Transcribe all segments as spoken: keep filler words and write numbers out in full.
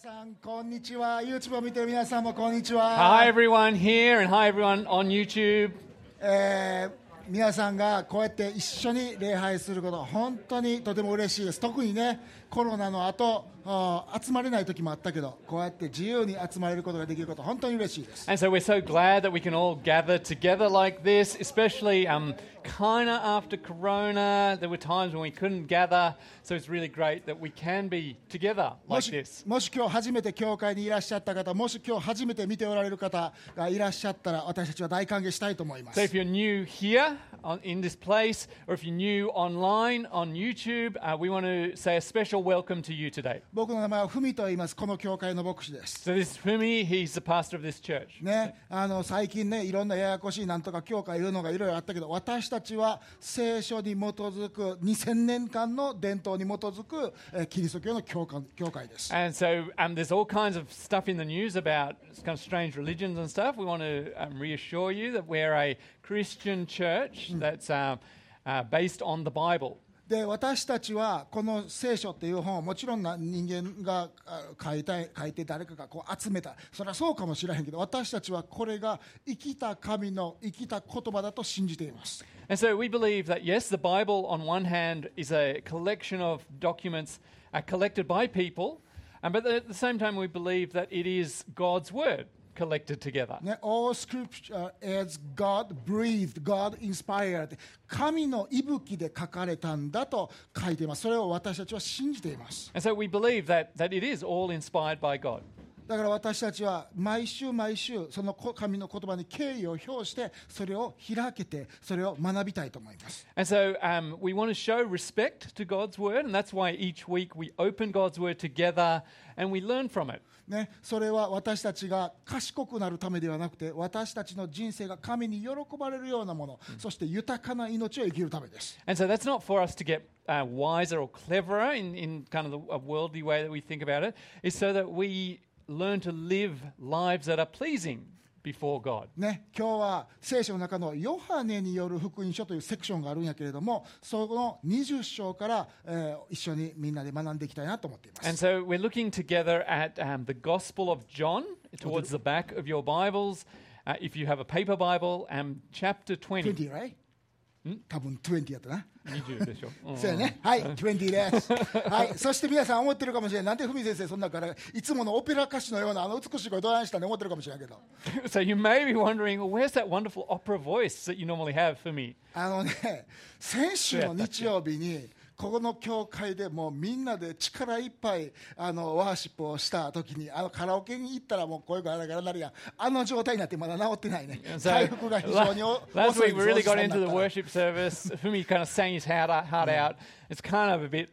さんこんにちは。 YouTube を見ている皆さんもこんにちは。 Hi everyone here and hi everyone on YouTube. えー皆さんがこうやって一緒に礼拝すること本当にとても嬉しいです。特にねコロナの後集まれない時もあったけどこうやって自由に集まれることができること本当に嬉しいです。 And so we're so glad that we can all gather together like this, especially um, kind of after Corona. There were times when we couldn't gather, so it's really great that we can be together も like し this. もし今日初めて教会にいらっしゃった方、もし今日初めて見ておられる方がいらっしゃったら私たちは大歓迎したいと思います。 So if you're new here on, in this place, or if you're new online on YouTube, uh, we want to say a special welcome to you today. 僕の名前はふみと言います。この教会の牧師です。 So this is Fumi, he's the pastor of this church. ね、あの最近ねいろんなややこしいなんとか教会いうのがいろいろあったけど私たちは聖書に基づくにせんねんかんの伝統に基づく、えー、キリスト教の教会、教会です。 And so um, there's all kinds of stuff in the news about kind of strange religions and stuff. We want to um, reassure you that we're a Christian church that's uh, uh, based on the Bible. で私たちはこの聖書っていう本をもちろんな人間が書いた書いて誰かがこう集めたそれはそうかもしれへんけど私たちはこれが生きた神の生きた言葉だと信じています。 And so we believe that, yes, the Bible on one hand is a collection of documents uh, collected by people, um, but at the same time we believe that it is God's word collected together. ね、all scripture is God breathed, God inspired 神の息吹で書かれたんだと書いています。それを私たちは信じています。 And so we believe that, that it is all inspired by God. だから私たちは毎週毎週その神の言葉に敬意を表してそれを開けてそれを学びたいと思います。 And so um, we want to show respect to God's word, and that's why each week we open God's word together and we learn from it. ね、それは私たちが賢くなるためではなくて私たちの人生が神に喜ばれるようなもの、うん、そして豊かな命を生きるためです。 And so that's not for us to get uh, wiser or cleverer in, in kind of the, a worldly way that we think about it. It's so that we learn to live lives that are pleasing before God. ね、今日は聖書の中のヨハネによる福音書というセクションがあるんやけれどもそのにじゅっ章から、えー、一緒にみんなで学んでいきたいなと思っています。 And so we're looking together at um, the Gospel of John towards the back of your Bibles. Uh, if you have a paper Bible, um, chapter twenty. にじゅう right? 多分にじゅうやったな。 にじゅうでしょ。 そうやね。はい、にじゅうです。はい、そして皆さん思ってるかもしれない。なんでふみ先生そんなからいつものオペラ歌手のようなあの美しい声どないしたんで思ってるかもしれないけど。 So you may be wondering, well, where's that wonderful opera voice that you normally have for me? あのね、先週の日曜日にここの教会でもうみんなで力いっぱいあのワーシップをした時にあのカラオケに行ったらもう声がガラガラなるやん。あの状態になってまだ治ってないね。回復が非常に遅い。 Last week we really got into the worship service. Fumi kind of sang his heart out. Heart out. It's kind of a bit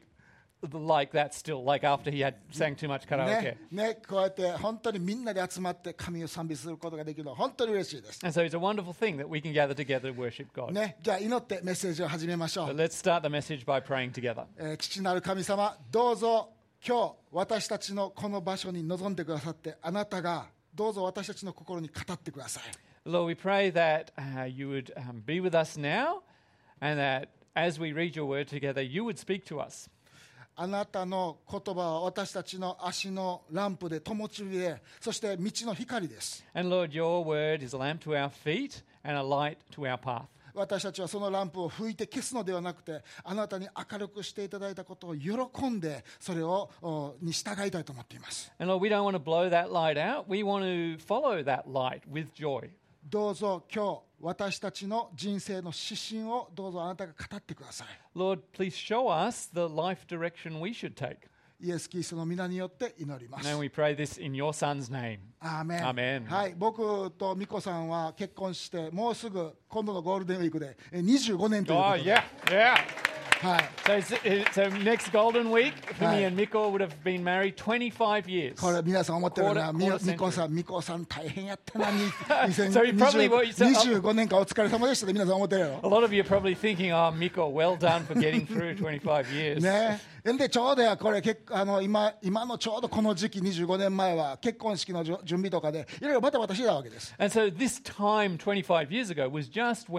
like that still, like after he had sang too much karaoke. ね、ね、こうやって本当にみんなで集まって神を賛美することができるのは本当に嬉しいです。 And so it's a wonderful thing that we can gather together to worship God. ね、じゃあ祈ってメッセージを始めましょう。 So let's start the message by praying together. えー、父なる神様、どうぞ今日私たちのこの場所に臨んでくださってあなたがどうぞ私たちの心に語ってください。 Lord, we pray that uh, you would um, be with us now and that as we read your word together, you would speak to us. あなたの言葉は私たちの足のランプで灯火で、そして道の光です。 And Lord, your word is a lamp to our feet and a light to our path. 私たちはそのランプを吹いて消すのではなくてあなたに明るくしていただいたことを喜んでそれをに従いたいと思っています。 And Lord, we don't want to blow that light out. We want to follow that light with joy. どうぞ今日私たちの人生の指針をどうぞあなたが語ってください。 Lord, please show us the life direction we should take. イエス・キリストの皆によって祈ります。 And we pray this in your son's name. アーメン。 アーメン。 はい、僕とミコさんは結婚してもうすぐ今度のゴールデンウィークでにじゅうごねんということ Oh, で。 yeah, yeah. はい。 So, it's- so next Golden Week, Fumi and Miko would have been married twenty-five years. これ皆さん思ってるな、 Quarter- ミ quarter century. ミコさん、ミコさん大変やったな、に So you probably what you said- にじゅうごねんかんお疲れ様でしたって皆さん思ってるや A ろ。 lot of you are probably thinking, oh, Miko, well done for getting through twenty-five years. ね、でちょうどやこれ結あの 今, 今のちょうどこの時期にじゅうごねんまえは結婚式の準備とかでいろいろバタバタしてたわけです。 And so this time twenty-five years ago was just when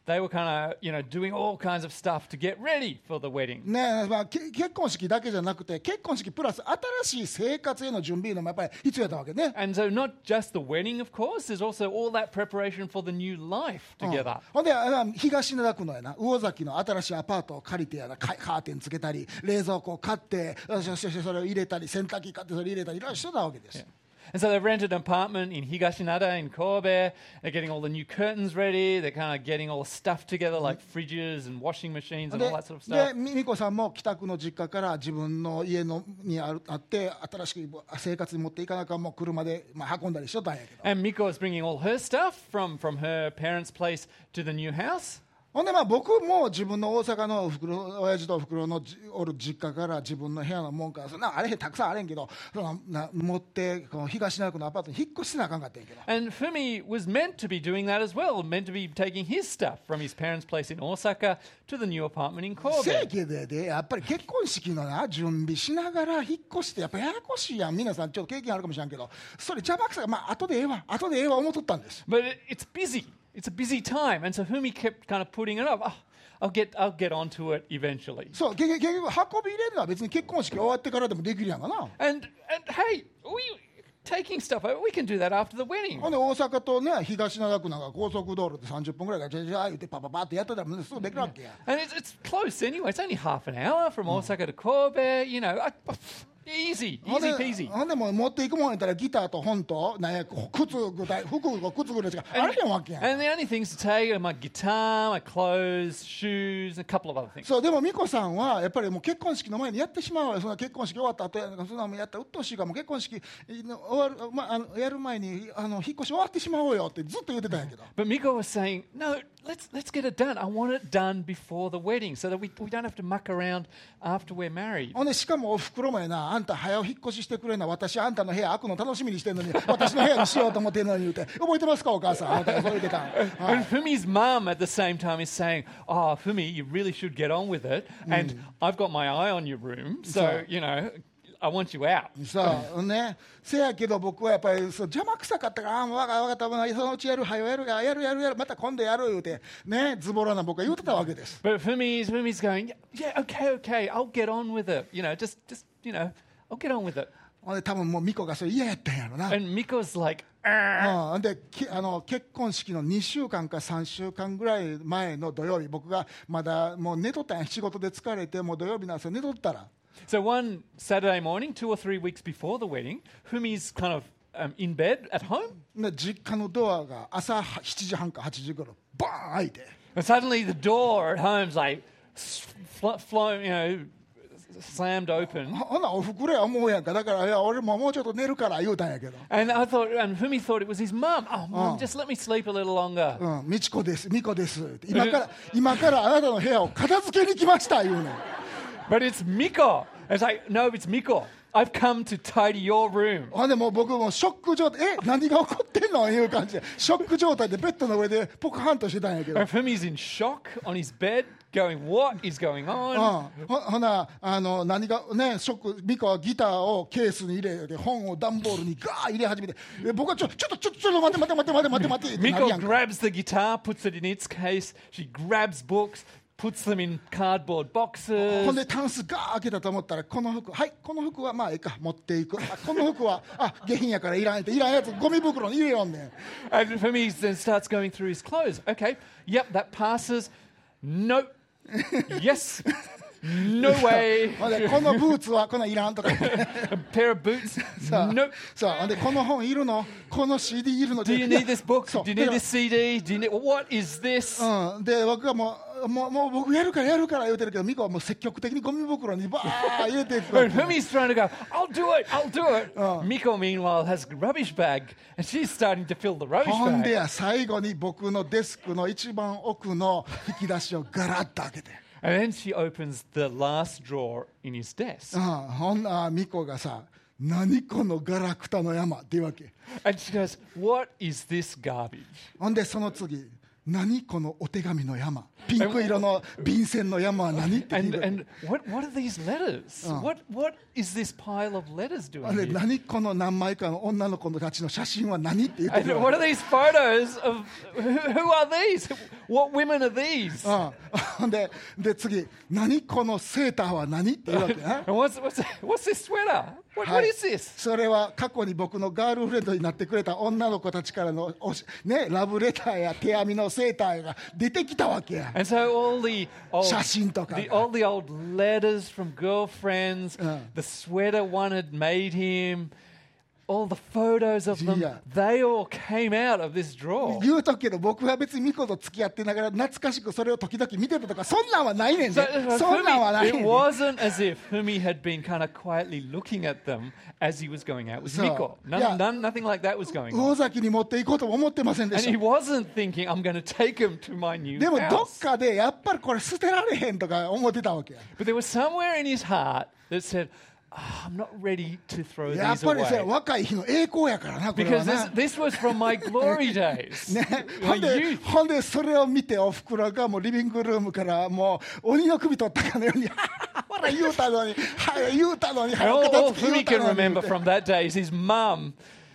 they were kind of, you know, doing all kinds of stuff to get ready for the wedding. ねまあ、け結婚式だけじゃなくて結婚式プラス新しい生活への準備のもやっぱり必要だったわけね。 And so not just the wedding, of course, there's also all that preparation for the new life うん together. ほんであの東灘区のやな魚崎の新しいアパートを借りてやなカカーテンつけたり冷蔵庫を買ってそしてそれを入れたり洗濯機買ってそれ入れたりいろいろしてたわけです。 And so they've rented an apartment in Higashinada in Kobe. They're getting all the new curtains ready. They're kind of getting all the stuff together like fridges and washing machines and で all that sort of で stuff. 美子さんも北区の実家から自分の家のにあるあって新しく生活に持っていかなきゃもう車で、まあ、運んだりしとったんやけど And Miko is bringing all her stuff from, from her parents' place to the new house. ほんでまあ僕も自分の大阪のおふくろ親父とおふくろのじおる実家から自分の部屋のもんからそんなあれへんたくさんあれんけどそのな持ってこの東灘区のアパートに引っ越してなあかんかったんやけど And Fumi was meant to be doing that as well, meant to be taking his stuff from his parents' place in Osaka to the new apartment in せや Kobe. けどでやっぱり結婚式のな準備しながら引っ越してやっぱややこしいやん皆さんちょっと経験あるかもしれんけどそれ邪魔くさいまあ後でええわ後でええわ思っとったんです But it, it's busy. It's a busy time. And so Fumi kept kind of putting it off. Oh, I'll get, I'll get onto it eventually. そう結局結局運び入れるのは別に結婚式終わってからでもできるやんかな And, and hey, we taking stuff over, we can do that after the wedding. ほんで大阪とね東灘区なんか高速道路でさんじゅっぷんぐらいからじゃじゃ言ってパパパってやってたらすぐできるわけや And it's, it's close anyway. It's only half an hour from Osaka to Kobe. You know, I, easy, ほん easy で peasy. ほんでもう持っていくもんやったらギターと本となんや靴ぐらい服が靴ぐらいしかあれへんわけやん And the only things to take are my guitar, my clothes, shoes, and a couple of other things. そうでも美子さんはやっぱりもう結婚式の前にやってしまうわよそんな結婚式終わった後やそんなもんやったらうっとうしいからもう結婚式終わる、まあ、あのやる前にあの引っ越し終わってしまおうよってずっと言ってたんやけど But Miko was saying, no, let's let's get it done. I want it done before the wedding so that we, we don't have to muck around after we're married. ほんでしかもおふくろもやなあんた早う引っ越ししてくれな私あんたの部屋開くの楽しみにしてんのに私の部屋にしようと思ってんのに言うて覚えてますかお母さんあんたがそう言ってたん、はい And Fumi's mum at the same time is saying, oh, Fumi, you really should get on with it. And I've got my eye on your room. So, So- you know, I want you out. そうねせやけど僕はやっぱりそう邪魔くさかったからああもう分かった分かったそのうちやるはよやるややるやるやるまた今度やる言うてねズボラな僕は言うてたわけです But Fumi's, Fumi's going, yeah, yeah, okay, okay, I'll get on with it. You know, just, just, you know, I'll get on with it. ほんで多分もう美子がそれ嫌やったんやろな And Miko's like, う "Argh." ん、ほんできあの結婚式のにしゅうかんかさんしゅうかんぐらい前の土曜日僕がまだもう寝とったんや仕事で疲れてもう土曜日なんですよ寝とったら So one Saturday morning, two or three weeks before the wedding, Fumi's kind of um, in bed at home. で実家のドアが朝しちじはんかはちじ頃バーン開いて And suddenly the door at home's like, fl- flown, you know, slammed open. ほほなおふくろや思うやんかだからいや俺ももうちょっと寝るから言うたんやけど And I thought, and Fumi thought it was his mum. Oh, mum, Oh. just let me sleep a little longer. うん、美智子です、美子ですって今から今からあなたの部屋を片付けに来ました言うねん But it's Miko. It's like, no, it's Miko. I've come to tidy your room. ほんでもう僕もショック状態え何が起こってんのいう感じでショック状態でベッドの上でポカハンとしてたんやけど And Fumi's in shock on his bed, going, what is going う on? ん、ほほなあの何がねショック美香はギターをケースに入れて本を段ボールにガー入れ始めてえ僕はちょちょっとちょっとちょっと待って待って待って待って待って待ってってなるや Miko んか grabs the guitar, puts it in its case. She grabs books, puts them in cardboard ほん boxes. でタンスガー開けたと思ったらこの服はいこの服はまあええか持っていくあこの服はあ下品やからいらんっていらんやつゴミ袋に入れよんねん And Fumi then starts going through his clothes. Okay, yep, that passes. Nope. Yes. No way. ほんでこのブーツはこのいらんとか A pair of boots. さあ Nope. さあほんでこの本いるのこの シーディー いるの Do you need this book? そう Do you need this C D? Do you need what is this? うん、で僕はもうもうもう僕やるからやるから言うてるけど美子はもう積極的にゴミ袋にバー入れていくわ And け Fumi's trying to go, I'll do it, I'll do it. Miko, meanwhile, has a rubbish bag, and she's starting to fill the rubbish ほんで bag. や最後に僕のデスクの一番奥の引き出しをガラッと開けて、 And then she opens the last drawer in his う desk. ん、ほんな美子がさ何このガラクタの山っていうわけ And she goes, what is this garbage? ほんでその次何このお手紙の山、ピンク色の便箋の山は何って聞い And, て、 and what, what are these letters? Oh. What, what is this pile of letters doing で here? 何この何枚かの女の子たちの写真は何って言ってく And る what わ are these photos of, who, who are these? What women are these? け、うん、で, で次、何このセーターは何って言うわけね。 And what's, what's, what's this sweater? What, は what い is this? それは過去に僕のガールフレンドになってくれた女の子たちからのおし、ね、ラブレターや手編みのセーターが出てきたわけや。 And so all the old, 写真とか the, all the old letters from girlfriends, Uh. the sweater one had made him, all the photos of them, Yeah. they all came out of this drawer. 言うとくけど、僕は別にミコと付き合ってながら懐かしくそれを時々見てたとか、そんなんはないねん So, で、 so そんなんは Fumi, ないね it んで。 wasn't as if Fumi had been kind of quietly looking at them as he was going out with So, Miko. None, yeah. none, nothing like that was going 魚 on. 崎に持っていこうとも思ってませんで And し he た。 wasn't thinking, I'm going to take him to my new でもどっ house. かでやっぱりこれ捨てられへんとか思ってたわけや。 But there was somewhere in his heart that said, oh, I'm not ready to throw やっ these ぱりさ、 away. 若い日の栄光やからな、これは Because な。 this, this was from my glory days. ね、ほ My んで youth. ほんでそれを見ておふくろがもうリビングルームからもう鬼の首取ったかのようにほら言うたのに、はい、言うたのに、 And 早 all, く片 all 付け言 Fumi うた can のに remember from that day is his mum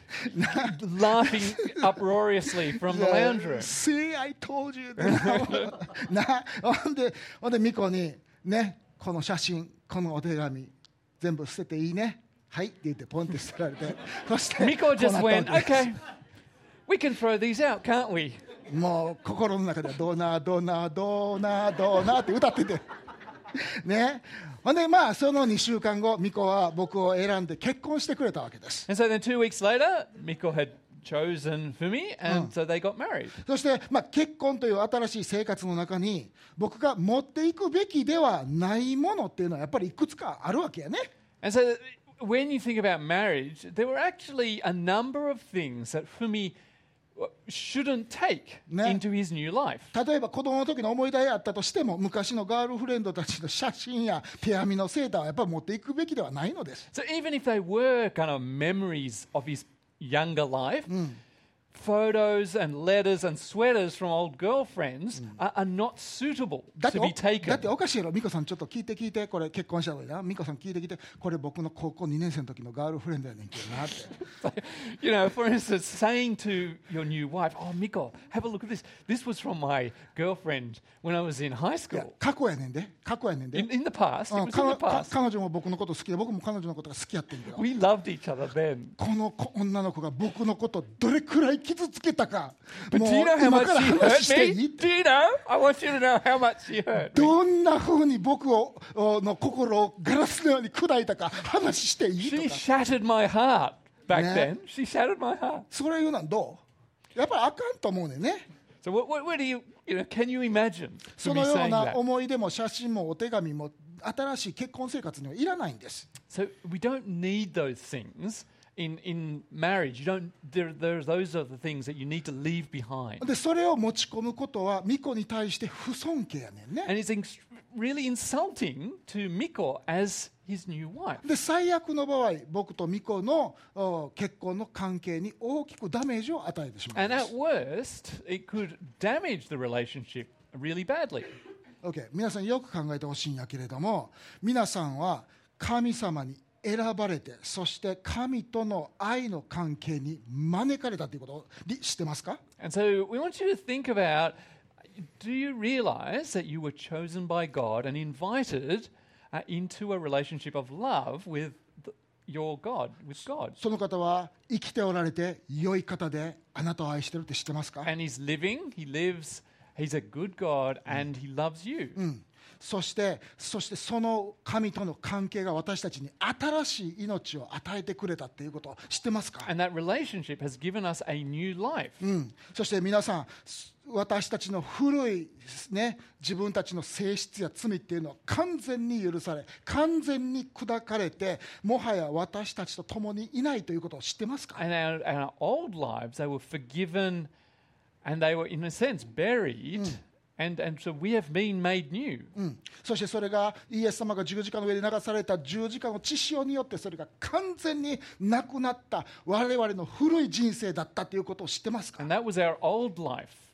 laughing uproariously from the lounge room. See, I told you な、ほんでほんでミコにね、この写真、このお手紙全部捨てていいね、はいって言ってポンって捨てられて、そして Miko just こうな went, ったわけです okay, we can throw these out, can't we? もう心の中でドナドナドナドナって歌っててね。ほんでまあそのにしゅうかんご、ミコは僕を選んで結婚してくれたわけです。 And so then two weeks later, Miko had chosen Fumi, and so they got married. そしてまあ結婚という新しい生活の中に僕が持っていくべきではないものっていうのはやっぱりいくつかあるわけやね。 And so when you think about marriage, there were actually a number of things that Fumi shouldn't take Ne. into his new life. 例えば子供の時の思い出あったとしても、昔のガールフレンドたちの写真や手編みのセーターはやっぱり持っていくべきではないのです。 So even if they were kind of memories of his younger life, photos and letters and sweaters from old girlfriends are, are not suitable だって to お be taken. だっておかしいやろ、美子さんちょっと聞いて聞いて、これ結婚したのにな、美子さん聞いて聞いて、これ僕の高校にねん生の時のガールフレンドやねんけどなって You know, for instance, saying to your new wife, "Oh, Miko, have a look at this. This was from my girlfriend when I was in high いや school." 過去やねんで、過去やねんで、 In, in the past, うん it was in 彼 the 彼 past. 女も僕のこと好きで、僕も彼女のことが好きやってんけど、 We loved each other then. この子女の子が僕のことどれくらい傷つけたか、 But もう do you know how 今 much から she 話してい hurt い me? Do you know? I want you to know how much she hurt me. どんなふうに僕をおの心をガラスのように砕いたか話していい She とか、 shattered my heart back Yeah. then. She shattered my heart. それ言うのはどう？やっぱりあかんと思うねんね。 So what, what, what do you, you know, can you imagine そ to の me よう saying な that? 思い出も写真もお手紙も新しい結婚生活にはいらないんです。 So we don't need those things in, in marriage. You don't, there, there, those are the things that you need to leave behind. でそれを持ち込むことは巫女に対して不尊敬やねんね。 And it's ex- really insulting to Miko as his new wife. で最悪の場合、僕と巫女のお結婚の関係に大きくダメージを与えてしまい And ま at す。 worst, it could damage the relationship really badly. Okay、皆さんよく考えてほしいんやけれども、皆さんは神様に選ばれて、そして神との愛の関係に招かれたということを知ってますか？ And so we want you to think about, do you realize that you were chosen by God and invited uh, into a relationship of love with the, your God, with God? その方は生きておられて良い方であなたを愛してるって知ってますか？ And he's living, he lives, he's a good God and he loves you. うん、そしてそしてその神との関係が私たちに新しい命を与えてくれたっていうことを知ってますか？ And that relationship has given us a new life. うん、そして皆さん、私たちの古い、ね、自分たちの性質や罪っていうのは完全に許され、完全に砕かれて、もはや私たちと共にいないということを知ってますか？ And our, our old lives, they were forgiven and they were, in a sense, buried. And, and so we have been made new. うん、そしてそれがイエス様が十字架の上で流された十字架の血潮によってそれが完全になくなった我々の古い人生だったということを知ってますか？ And that was our old life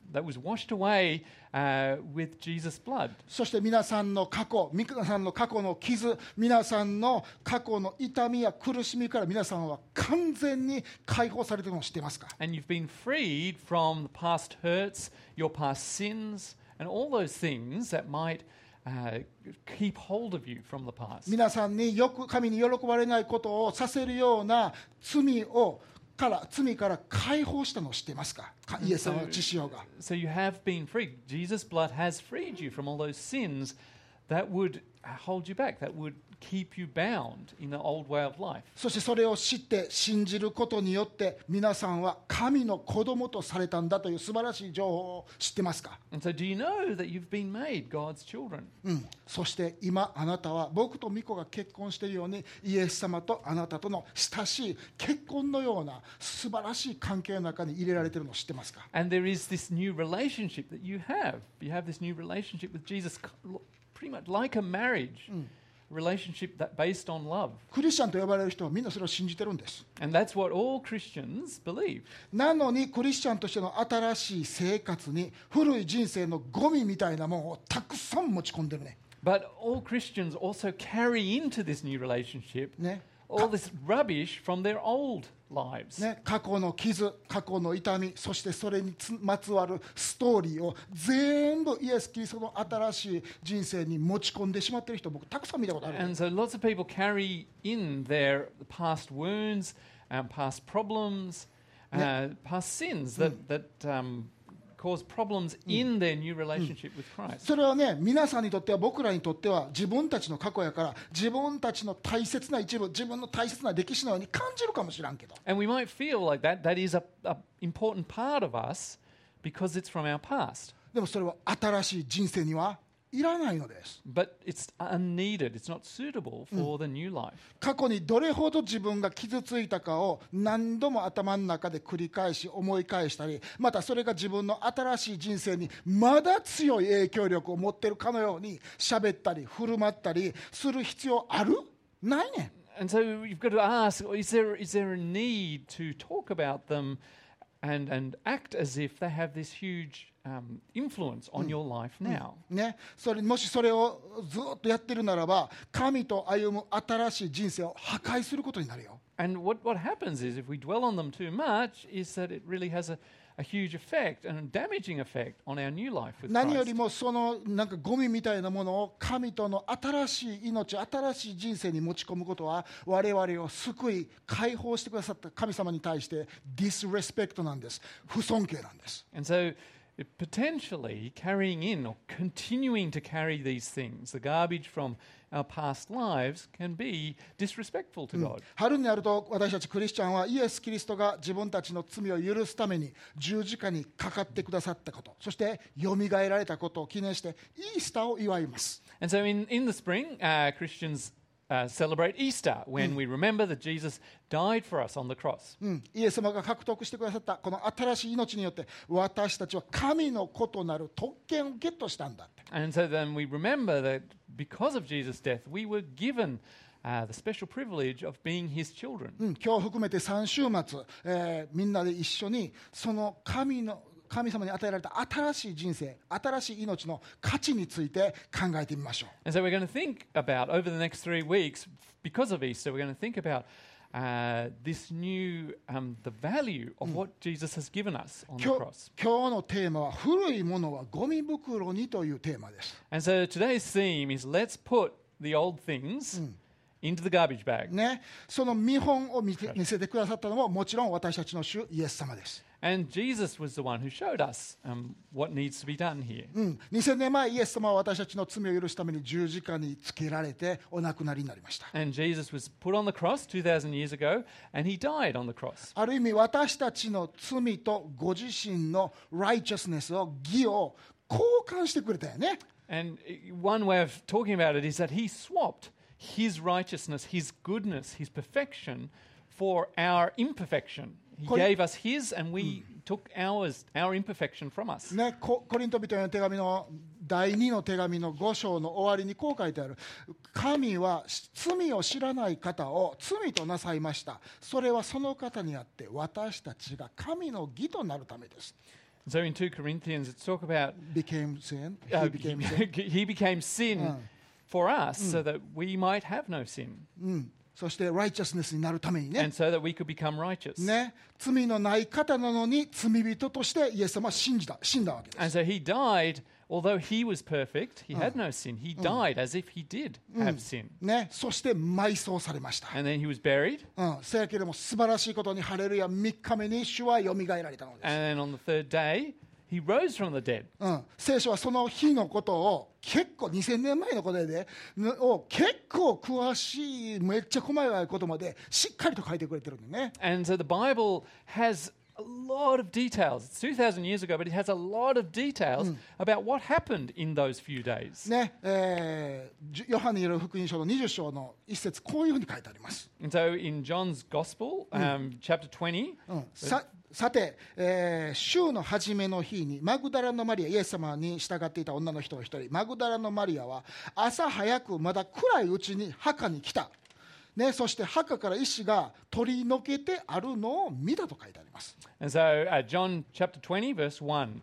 that was washed away uh, with Jesus' blood. そして皆さんの過去、皆さんの過去の傷、皆さんの過去の痛みや苦しみから皆さんは完全に解放されているのを知っていますか？ And you've been freed from the past hurts, your past sins, and all those things that might uh, keep hold of you from the past. 皆さんによく神に喜ばれないことをさせるような罪をから罪から解放したのを知っていますか？イエス様の血潮が。 So you have been freed. Jesus' blood has freed you from all those sins that would hold you back, that would keep you bound in the old way of life. そしてそれを知って信じることによって皆さんは神の子供とされたんだという素晴らしい情報を知ってますか？ And so do you know that you've been made God's children? うん、そして今あなたは僕とミコが結婚しているようにイエス様とあなたとの親しい結婚のような素晴らしい関係の中に入れられているのを知ってますか？ And there is this new relationship that you have. You have this new relationship with Jesus, pretty much like a marriage. Relationship that based on love. クリスチャンと呼ばれる人はみんなそれを信じてるんです。 And that's what all Christians believe. なのにクリスチャンとしての新しい生活に古い人生のゴミみたいなものをたくさん持ち込んでるね。 But all Christians also carry into this new relationship ね。 all this rubbish from their old lives. ね、過去の傷、過去の痛み、そしてそれにつまつわるストーリーを全部イエス・キリストの新しい人生に持ち込んでしまっている人、僕たくさん見たことある。 And so lots of people carry in their past wounds, um, past problems, uh, past sins that, that um, cause problems in their new relationship with Christ. それはね、皆さんにとっては僕らにとっては自分たちの過去やから自分たちの大切な一部、自分の大切な歴史のように感じるかもしれんけど、 And we might feel like that, that is a, a important part of us because it's from our past. でもそれは新しい人生にはいらないのです。 But it's unneeded. It's not suitable for the new life. 過去にどれほど自分が傷ついたかを何度も頭の中で繰り返し思い返したり、またそれが自分の新しい人生にまだ強い影響力を持っているかのように喋ったり振る舞ったりする必要ある？ないねん。 And so you've got to ask, is there, is there a need to talk about them and, and act as if they have this huge um, influence on your life now? ね、それもしそれをずっとやってるならば神と歩む新しい人生を破壊することになるよ。 And what, what happens is if we dwell on them too much is that it really has a, a huge effect and a damaging effect on our new life with 何より Christ. もそのなんかゴミみたいなものを神との新しい命、新しい人生に持ち込むことは我々を救い解放してくださった神様に対してディスレスペクトなんです。不尊敬なんです。 And so it potentially carrying in or continuing to carry these things, the garbage from our past lives, can be disrespectful to God. 春になると私たちクリスチャンはイエス・キリストが自分たちの罪を許すために十字架にかかってくださったこと、そしてよみがえられたことを記念してイースターを祝います。 And so in, in the spring, uh, Christians uh, celebrate Easter when we remember that Jesus died for us on the cross. うん、イエス様が獲得してくださったこの新しい命によって私たちは神の子となる特権をゲットしたんだって。 And so then we remember that because of Jesus' death, we were given uh, the special privilege of being his children. うん、今日含めてさん週末、えーみんなで一緒にその神の神様に与えられた新しい人生、新しい命の価値について考えてみましょう。 And so we're going to think about, over the next three weeks, because of Easter, we're going to think about uh, this new, um, the value of what Jesus has given us on the 今日 cross. 今日のテーマは古いものはゴミ袋にというテーマです。 And so today's theme is let's put the old things into the garbage bag. ね、その見本を見せ見せてくださったのももちろん私たちの主イエス様です。 And Jesus was the one who showed us um, what needs to be done here. うん、にせんねんまえイエス様は私たちの罪を許すために十字架につけられてお亡くなりになりました。 And Jesus was put on the cross two thousand years ago, and he died on the cross. ある意味私たちの罪とご自身の righteousness を義を交換してくれたよね。 And one way of talking about it is that he swapped his righteousness, his goodness, his perfection for our imperfection. He Cor- gave us his, and we took ours, our imperfection from us. ね、ココリント人への手紙のだいにの手紙のご章の終わりにこう書いてある。神は罪を知らない方を罪となさいました。それはその方にあって私たちが神の義となるためです。 So in two Corinthians, it's talk about became sin. uh, He became sin. he became sin Mm. for us so that we might have no sin うん。そして、righteousness になるためにね。 and so that we could become righteous. ね。罪のない方なのに、罪人としてイエス様は信じた、死んだわけです。 And so he died, although he was perfect, he had no sin. He died as if he did have sin. ね。そして、埋葬されました。 And then he was buried. うん。せやけれども、素晴らしいことに、ハレルヤ、みっかめに主はよみがえられたのです。 And then on the third day, he rose from the dead. うん、聖書はその日のことを結構にせんねんまえのことで、ね、を結構詳しいめっちゃ細かいことまでしっかりと書いてくれてるんでね。 And so the Bible has a lot of details. It's two thousand years ago, but it has a lot of details about what happened in those few days. ねえーじヨハネによる福音書のにじゅっ章の一節こういうふうに書いてあります。 And so in John's Gospel, um, chapter twenty, うん、ささて、えー週の初めの日にマグダラのマリア、イエス様に従っていた女の人が一人、マグダラのマリアは朝早くまだ暗いうちに墓に来た、ね、そして墓から石が取り除けてあるのを見たと書いてあります。 and so uh, John chapter twenty, verse one.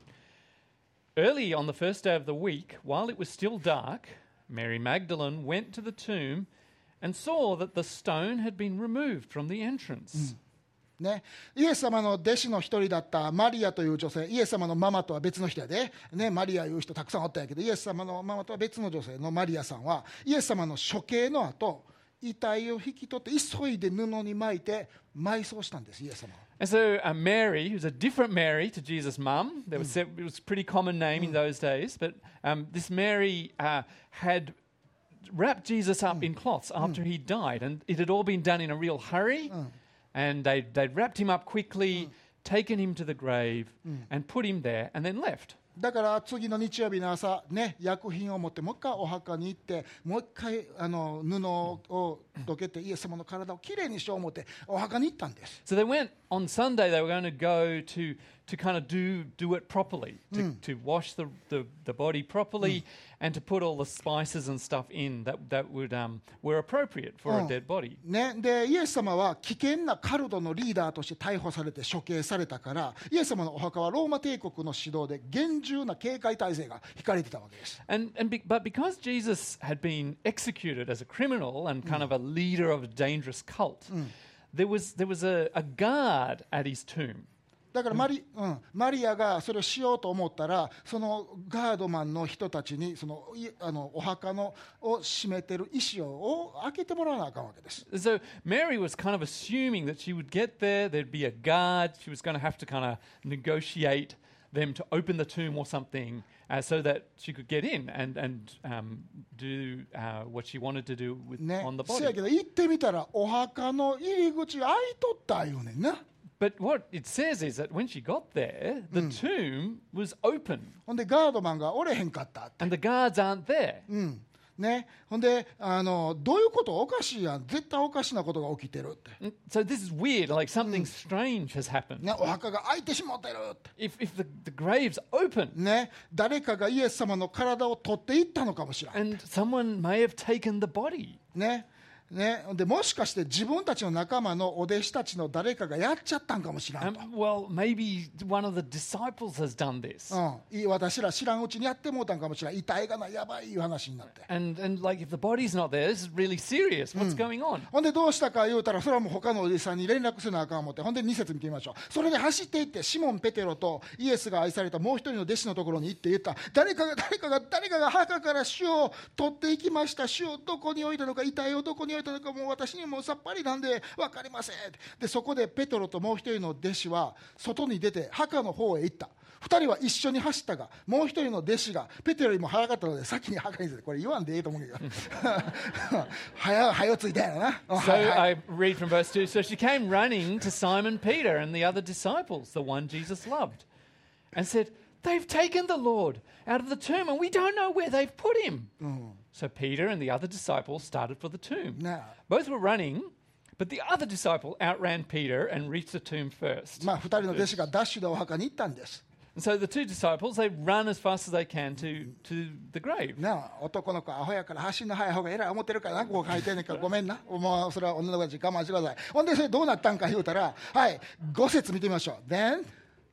Early on the first day of the week, while it was still dark, Mary Magdalene went to the tomb and saw that the stone had been removed from the entrance. ね、イエス様の弟子の一人だったマリアという女性、イエス様のママとは別の人やで、ね、マリアいう人たくさんおったんやけど、イエス様のママとは別の女性のマリアさんはイエス様の処刑の後、遺体を引き取って急いで布に巻いて埋葬したんです、イエス様は。 And so uh, Mary, who's a different Mary to Jesus' mum, there was, it was a pretty common name in those days, but um, this Mary uh, had wrapped Jesus up in cloths after he died, and it had all been done in a real hurry, and they, they'd wrapped him up quickly, taken him to the grave, and put him there, and then left. だから次の日曜日の朝、ね、薬品を持ってもう一回お墓に行ってもう一回あの布をどけてイエス様の体をきれいにしよう思ってお墓に行ったんです。 So they went on Sunday, they were going to go to, to kind of do, do it properly, to, to wash the, the, the body properly, and to put all the spices and stuff in that, that would, um, were appropriate for a dead body. ね、でイエス様は危険なカルトのリーダーとして逮捕されて処刑されたから、イエス様のお墓はローマ帝国の指導で厳重な警戒態勢が引かれてたわけです。 And, and be, but because Jesus had been executed as a criminal and kind of a leader of a dangerous cult, there was, there was a, a guard at his tomb. だからマリ、うん、マリアがそれをしようと思ったら、そのガードマンの人たちにそのいあのお墓のを閉めてる石を開けてもらわなあかんわけです。 So Mary was kind of assuming that she would get there, there'd be a guard, she was going to have to kind of negotiate them to open the tomb or something uh, so that she could get in and, and um, do uh, what she wanted to do with, ね on the、 せや body. けど行ってみたらお墓の入り口開いとったよねんな。 But what it says is that when she got there, the tomb was open ほんでガードマンがおれへんかったって、 and the guards aren't there. うんね、ほんであのどういうこと、おかしいやん、絶対おかしなことが起きてるって、 And so this is weird, like something strange has happened. ね、お墓が開いてしまってるって、 If, if the, the grave's open ね、誰かがイエス様の体を取っていったのかもしれない、 and someone may have taken the body. ねね、でもしかして自分たちの仲間のお弟子たちの誰かがやっちゃったんかもしれん Um, と、 well, maybe one of the disciples has done this. うん、い私ら知らんうちにやってもうたんかもしれん、遺体がなやばいいう話になって、 And, and like if the body's not there, this is really serious. What's going on? ほんでどうしたか言うたら、それはもう他のお弟子さんに連絡せなあかん思って、ほんでに節見てみましょう。それで走っていってシモン・ペテロとイエスが愛されたもう一人の弟子のところに行って言った、誰かが誰かが誰かが墓から主を取っていきました、主をどこに置いたのか、遺体をどこに置いたのかもう私にもさっぱりなんで分かりません。でそこでペテロともう一人の弟子は外に出て墓の方へ行った。二人は一緒に走ったが、もう一人の弟子がペテロよりも早かったので先に墓に着いて、これ言わんでええと思うけど早早ついたやろな。 So I read from verse two. So she came running to Simon Peter and the other disciples, the one Jesus loved, and said, "They've taken the Lord out of the tomb and we don't know where they've put him." So Peter and the other disciple started for the tomb. Now- Both were running, but the other disciple outran Peter and reached the tomb first. まあ二人の弟子がダッシュでお墓に行ったんです。 And so the two disciples, they run as fast as they can to, to the grave. なあ、男の子アホやから走んの早い方がえらい思ってるからな、こう書いてんねんからごめんな、もうそれは女の子たち我慢してください。ほんでそれどうなったんか言うたら、はい、ご節見てみましょう。 Then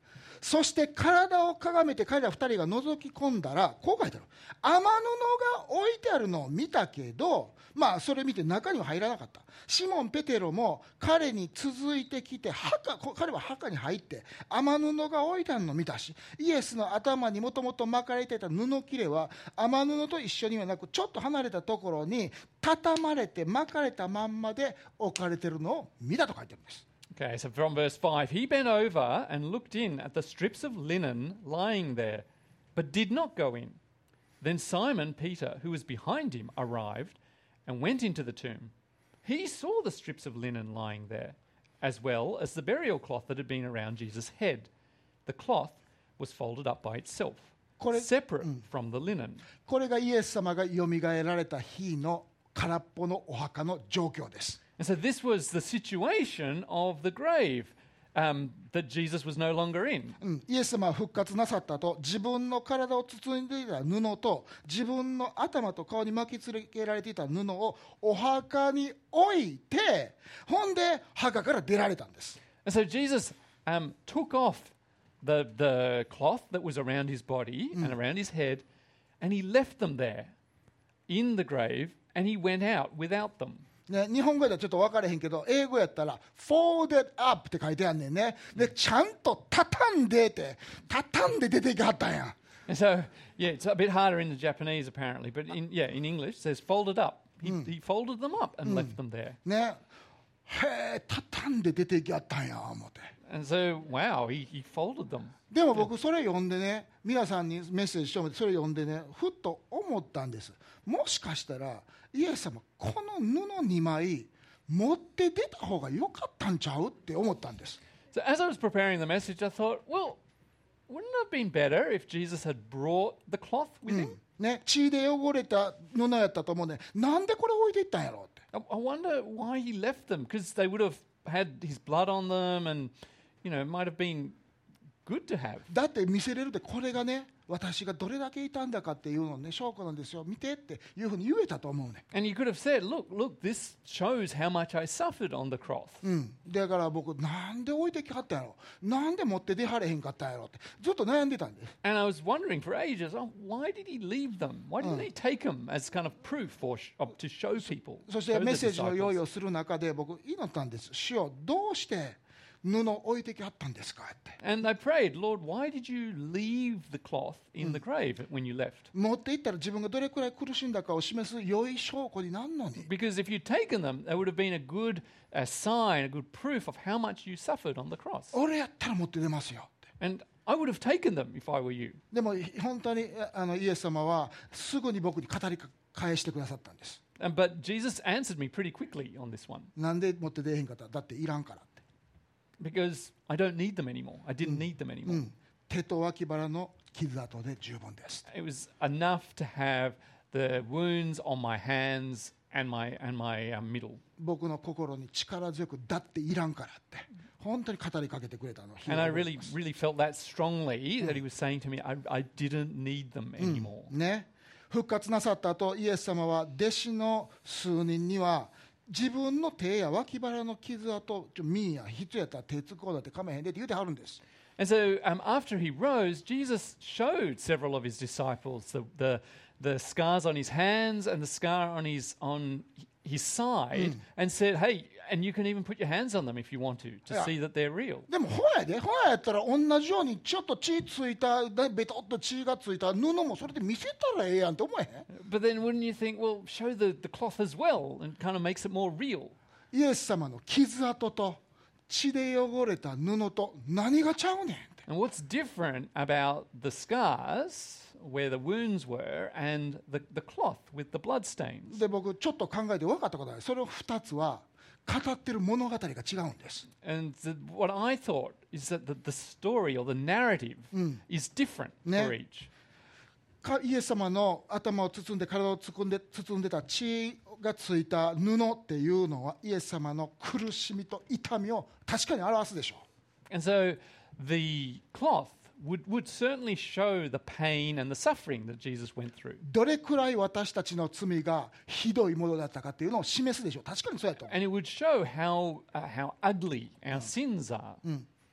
そして体をかがめて彼ら二人が覗き込んだら、こう書いてある。雨布が置いてあるのを見たけど、まあそれ見て中には入らなかった。シモン・ペテロも彼に続いてきて、墓、彼は墓に入って雨布が置いてあるのを見たし、イエスの頭にもともと巻かれていた布切れは雨布と一緒にはなく、ちょっと離れたところに畳まれて巻かれたまんまで置かれているのを見たと書いてあるんです。 Okay, so from verse five, he bent over and looked in at the strips of linen lying there, but did not go in. Then Simon Peter, who was behind him, arrived and went into the tomb. He saw the strips of linen lying there, as well as the burial cloth that had been around Jesus' head. The cloth was folded up by itself, separate from the linen. これがイエス様がよみがえられた日の空っぽのお墓の状況です。 And so this was the situation of the grave um, that Jesus was no longer in. うん、イエス様は復活なさったと、自分の体を包んでいた布と自分の頭と顔に巻きつけられていた布をお墓に置いて、ほんで墓から出られたんです。 And so Jesus um, took off the, the cloth that was around his body and around his head, and he left them there in the grave, and he went out without them. ね、日本語ではちょっと分からへんけど、英語やったら folded up って書いてあんねんね。で、ちゃんと畳んでって畳んで出てきはったんや。 And so, yeah, it's a bit harder in the Japanese apparently, but in, yeah, in English it says folded up. He, he folded them up and left them there. ね、へえ、畳んで出てきはったんや思って。 And so, wow, he, he folded them. でも僕それ読んでね、皆さんにメッセージしてもらってそれ読んでね、ふっと思ったんです。もしかしたらイエス様この布にまい持って出た方が良かったんちゃうって思ったんです。 So as I was preparing the message, I thought, well, wouldn't it have been better if Jesus had brought the cloth with him? ね、血で汚れた布やったと思うね。なんでこれ置いていったんやろうって。 I, I wonder why he left them, because they would have had his blood on them and, you know, it might have been good to have. だって見せれるで、これがね、私がどれだけいたんだかっていうのね、証拠なんですよ、見てっていうふうに言えたと思うね。 And you could have said, look, look, this shows how much I suffered on the cross. うん、だから僕、なんで置いてきはったんやろ、なんで持って出はれへんかったんやろってずっと悩んでたんです。 And I was wondering for ages, oh, why did he leave them? Why didn't he take them as kind of proof or sh- of, to show people? そしてメッセージの用意をする中で僕祈ったんです。主よ、どうして布を置いてきはったんですかって。 And I prayed, Lord, why did you leave the cloth in the grave when you left? 持っていったら自分がどれくらい苦しんだかを示す良い証拠になるのに。 Because if you'd taken them, that would have been a good a sign, a good proof of how much you suffered on the cross. 俺やったら持って出ますよって。 And I would have taken them if I were you. でも本当にあのイエス様はすぐに僕に語り返してくださったんです。 And, but Jesus answered me pretty quickly on this one. なんで持って出へんかった？だっていらんから。 Because I don't need them anymore. I didn't need them anymore. うん、手と脇腹の傷跡で十分です。 It was enough to have the wounds on my hands and my, and my uh, middle. 僕の心に力強くだっていらんからって本当に語りかけてくれたの。 And I really, really felt that strongly that he was saying to me, I, I didn't need them anymore. ね、復活なさった後、イエス様は弟子の数人には自分の手や脇腹の傷跡、ちょミーや必要やったら手つこうだってかめへんでって言うてはるんです。 And so um, after he rose, Jesus showed several of his disciples the, the, the scars on his hands and the scar on his, on his side and said, hey, and you can even put your hands on them if you want to, to Yeah. see that they're real. でもほやで、ほややったら同じようにちょっと血ついた、ベトッと血がついた布もそれで見せたらええやんって思えへん。 But then wouldn't you think, well, show the, the cloth as well and kind of makes it more real? イエス様の傷跡と血で汚れた布と何がちゃうねんって。 And what's different about the scars where the wounds were and the, the cloth with the blood stains? で僕ちょっと考えて分かったことある。それをふたつは語ってる物語が違うんです。 And the, what I thought is that the, the story or the narrative is different Ne. for each. かイエス様の頭を包んで体を包んで包んでた血がついた布っていうのはイエス様の苦しみと痛みを確かに表すでしょう。 And so the cloth would, would certainly show the pain and the suffering that Jesus went through. どれくらい私たちの罪がひどいものだったかっていうのを示すでしょう。確かにそうやと思う。 And it would show how, uh, how ugly our sins are.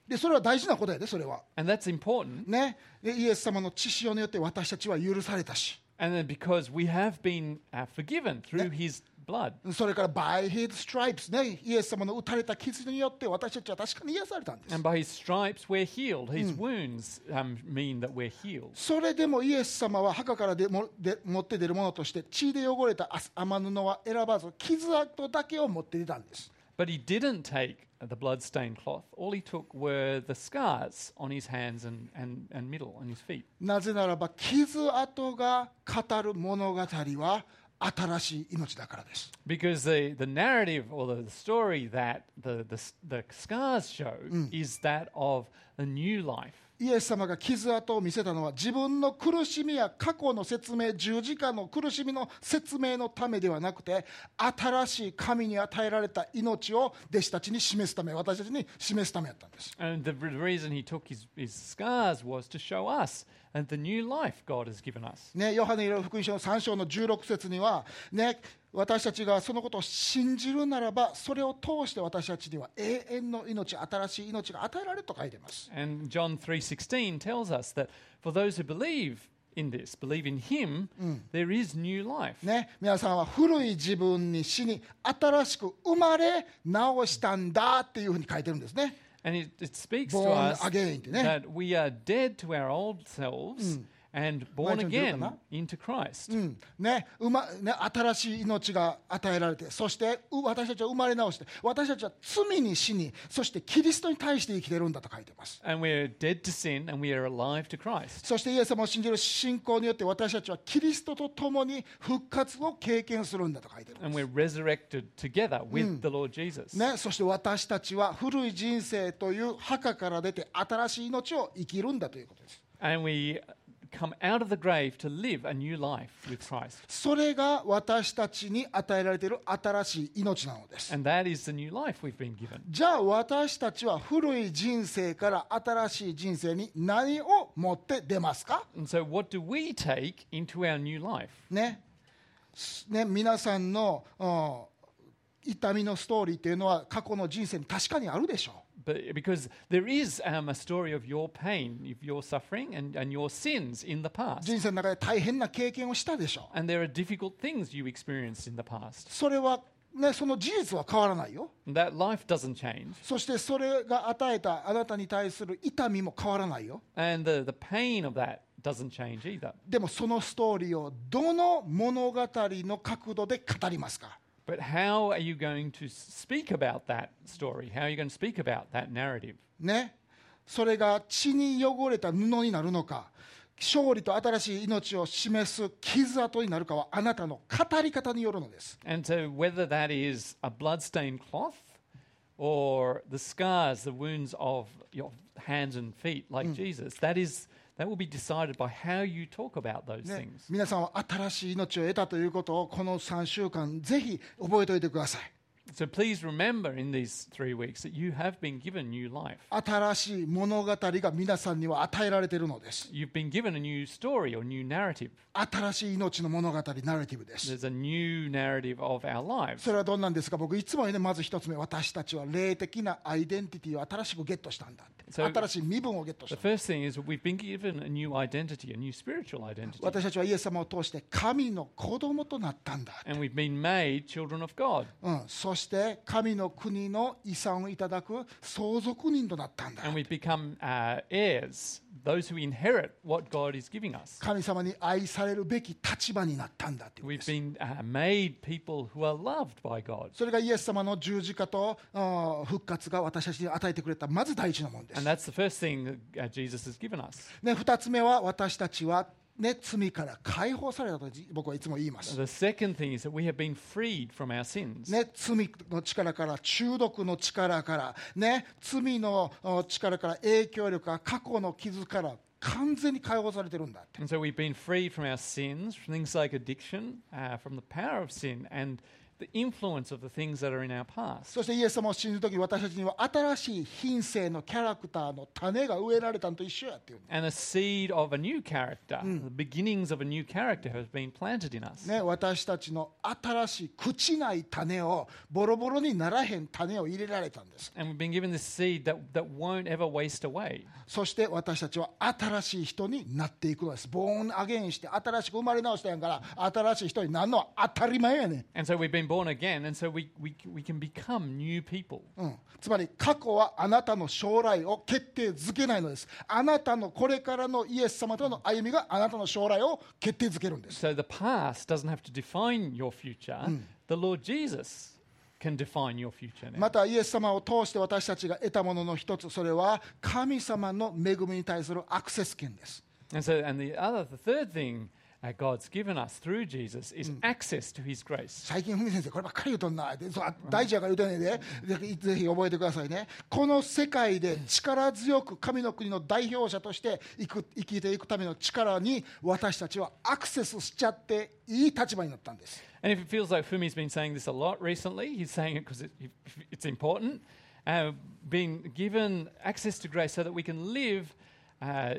でそれは大事なことやで、それは And that's important. ね。でイエス様の血潮によって私たちは許されたし、 And then because we have been uh, forgiven through his blood. それから by his stripes ね、イエス様の打たれた傷によって私たちは確かに癒されたんです。 And by his stripes we're healed. His wounds um, mean that we're healed. それでもイエス様は墓からでもで持って出るものとして血で汚れた雨布は選ばず傷跡だけを持って出たんです。 But he didn't take the blood-stained cloth. All he took were the scars on his hands and, and, and middle, on his feet. なぜならば傷跡が語る物語は新しい命だからです。 Because the, the narrative or the, the story that the, the, the scars show is that of a new life. イエス様が傷跡を見せたのは自分の苦しみや過去の説明、十字架の苦しみの説明のためではなくて、新しい神に与えられた命を弟子たちに示すため、私たちに示すためだったんです。 And the reason he took his, his scars was to show us and the new life God has given us. ね、ヨハネの福音書のさん章のじゅうろく節には、ね、私たちがそのことを信じるならば、それを通して私たちには永遠の命、新しい命が与えられると書いています。 And John three sixteen tells us that for those who believe in this, believe in him, there is new life. ね、皆さんは古い自分に死に新しく生まれ直したんだっていうふうに書いてるんですね。 And it, it speaks to Born us again ってね。 that we are dead to our old selves and born 前ちゃん出るかな？ again into Christ. うんねうまね、新しい命が与えられて、そしてう私たちは生まれ直して、私たちは罪に死に、そしてキリストに対して生きてるんだと書いています。 And we're dead to sin and we are alive to Christ. そしてイエス様を信じる信仰によって私たちはキリストと共に復活を経験するんだと書いているん And です。 we're resurrected together with the Lord Jesus. ね、そして私たちは古い人生という墓から出て新しい命を生きるんだということです。 And we come out of the grave to live a new life with Christ. それが私たちに与えられている新しい命なのです。 And that is the new life we've been given. じゃあ私たちは古い人生から新しい人生に何を持って出ますか？ And so what do we take into our new life? ね、ね、皆さんの、うん、痛みのストーリーっていうのは過去の人生に確かにあるでしょう。 But because there is um, a story of your pain, of your suffering, and, and your sins in the past. 人生の中で大変な経験をしたでしょう。 And there are difficult things you experienced in the past. それは、ね、その事実は変わらないよ。 And that life doesn't change. そしてそれが与えたあなたに対する痛みも変わらないよ。 And the, the pain of that doesn't change either. でもそのストーリーをどの物語の角度で語りますか？ But how are you going to speak about that story? How are you going to speak about that narrative? ね、それが血に汚れた布になるのか、勝利と新しい命を示す傷跡になるかはあなたの語り方によるのです。 And so whether that is a blood-stained cloth or the scars, the wounds of your hands and feet like Jesus, that is that will be decided by how you talk about those ね things. 皆さんは新しい命を得たということをこのさんしゅうかんぜひ覚えておいてください。 So please remember in these three weeks that you have been given new life. 新しい物語が皆さんには与えられているのです。 You've been given a new story or new narrative. 新しい命の物語、ナラティブです。 There's a new narrative of our lives. それはどんなんですか？僕いつもね、まず一つ目、私たちは霊的なアイデンティティを新しくゲットしたんだって。 So- 新しい身分をゲットし The た。 first thing is that we've been given a new identity, a new spiritual identity. 私たちはイエス様を通して神の子供となったんだ。 And we've been made children of God. うん、そして神の国の遺産をいただく相続人となったんだ。 And we've become uh, heirs, those who inherit what God is giving us. 神様に愛されるべき立場になったんだっていうんで We've す。 been uh, made people who are loved by God. それがイエス様の十字架とあ復活が私たちに与えてくれたまず第一のものです。 And that's the first thing that uh, Jesus has given us. ね、二つ目は私たちは、ね、罪から解放されたと僕はいつも言います。 The second thing is that we have been freed from our sins. ね、罪の力から、中毒の力から、ね、罪のお力から、影響力から、過去の傷から完全に解放されてるんだって。 And so we've been freed from our sins, from things like addiction, uh, from the power of sin, and the influence of the things that are in our past. そしてイエス様を信じるとき私たちには新しい品性のキャラクターの種が植えられたのと一緒やっていう。 And the seed of a new character, the beginnings of a new character has been planted in us. ね、私たちの新しい朽ちない種をボロボロにならへん種を入れられたんです。 And we've been given this seed that, that won't ever waste away. そして私たちは新しい人になっていくのです。ボーンアゲインして新しく生まれ直したんやから新しい人になるのは当たり前やねん。 And so we've been born again, and so we, we, we can become new people. うん、つまり過去はあなたの将来を決定づけないのです。あなたのこれからのイエス様との歩みがあなたの将来を決定づけるんです。 So the past doesn't have to define your future. The Lord Jesus can define your future now. またイエス様を通して私たちが得たものの一つ、それは神様の恵みに対するアクセス権です。 And so, and the other, the third thing uh, God's given us through Jesus is access to His grace. 最近、ふみ先生、こればっかり言うとんな。でそう大事やから言うとんねんで、ぜぜひ覚えてくださいね。この世界で力強く神の国の代表者として生く生きていくための力に私たちはアクセスしちゃっていい立場になったんです。 And if it feels like Fumi's been saying this a lot recently, he's saying it because it, it's important, uh, being given access to grace so that we can live uh,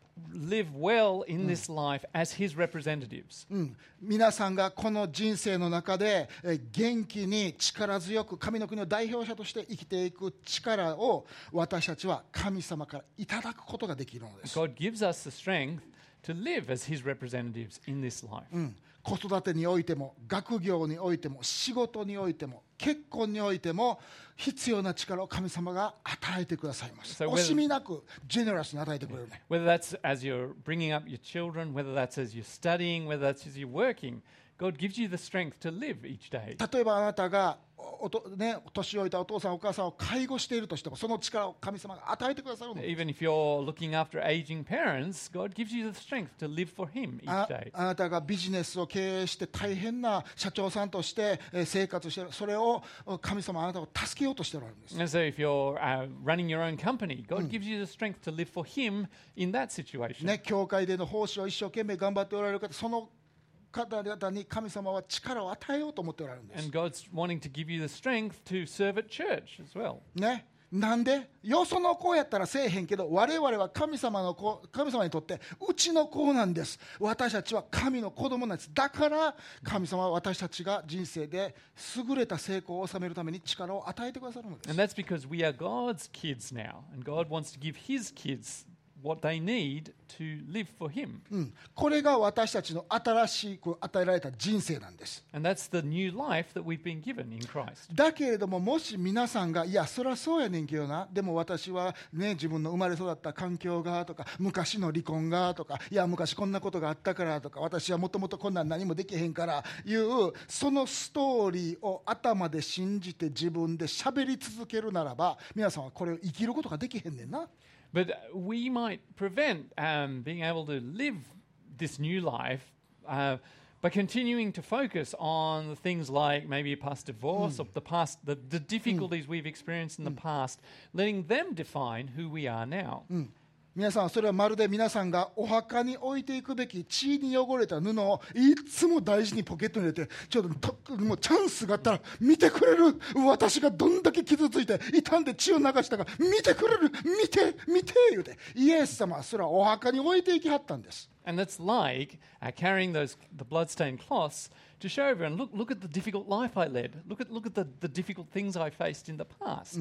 live well in this life as His representatives. うん、皆さんがこの人生の中でえ元気に力強く神の国の代表者として生きていく力を私たちは神様からいただくことができるのです。 God gives us the strength to live as His representatives in this life. うん、子育てにおいても学業においても仕事においても結婚においても必要な力を神様が与えてくださいます。 So whether- 惜しみなくジェネラスに与えてくれるね。 Whether that's as you're bringing up your children, whether that's as you're studying, whether that's as you're working, God gives you the strength to live each day. 例えばあなたがおと、ね、年老いたお父さんお母さんを介護しているとしてもその力を神様が与えてくださるの。 Even if you're looking after aging parents, God gives you the strength to live for Him あ each day. あなたがビジネスを経営して大変な社長さんとしてえー生活している、それを神様はあなたを助けようとしておられるんです。 And so if you're uh, running your own company, God gives you the strength to live for Him in that situation. ね、教会での奉仕を一生懸命頑張っておられる方、その方々に神様は力を与えようと思っておられるんです。 And God's wanting to give you the strength to serve at church as well. ね、なんでよその子やったらせえへんけど我々は神様の子、神様にとってうちの子なんです。私たちは神の子供なんです。だから神様は私たちが人生で優れた成功を収めるために力を与えてくださるのです。 And that's because we are God's kids now. And God wants to give His kids what they need to live for Him. うん、これが私たちの新しく与えられた人生なんです。 And that's the new life that we've been given in Christ. だけれどももし皆さんがいやそりゃそうやねんけどな、でも私はね自分の生まれ育った環境がとか昔の離婚がとかいや昔こんなことがあったからとか私はもともとこんなん何もできへんからいうそのストーリーを頭で信じて自分で喋り続けるならば皆さんはこれを生きることができへんねんな。 But we might prevent um, being able to live this new life uh, by continuing to focus on the things like maybe a past divorce or the past, the, the difficulties we've experienced in the past, letting them define who we are now. 皆さんそれはまるで皆さんがお墓に置いていくべき血に汚れた布をいつも大事にポケットに入れてちょっとともうチャンスがあったら見てくれる、私がどんだけ傷ついて傷んで血を流したか見てくれる、見て見て言うてイエス様はそれはお墓に置いていきはったんです。 And that's like uh, carrying those the bloodstained cloths to show everyone, look, look at the difficult life I led. Look at, look at the, the difficult things I faced in the past.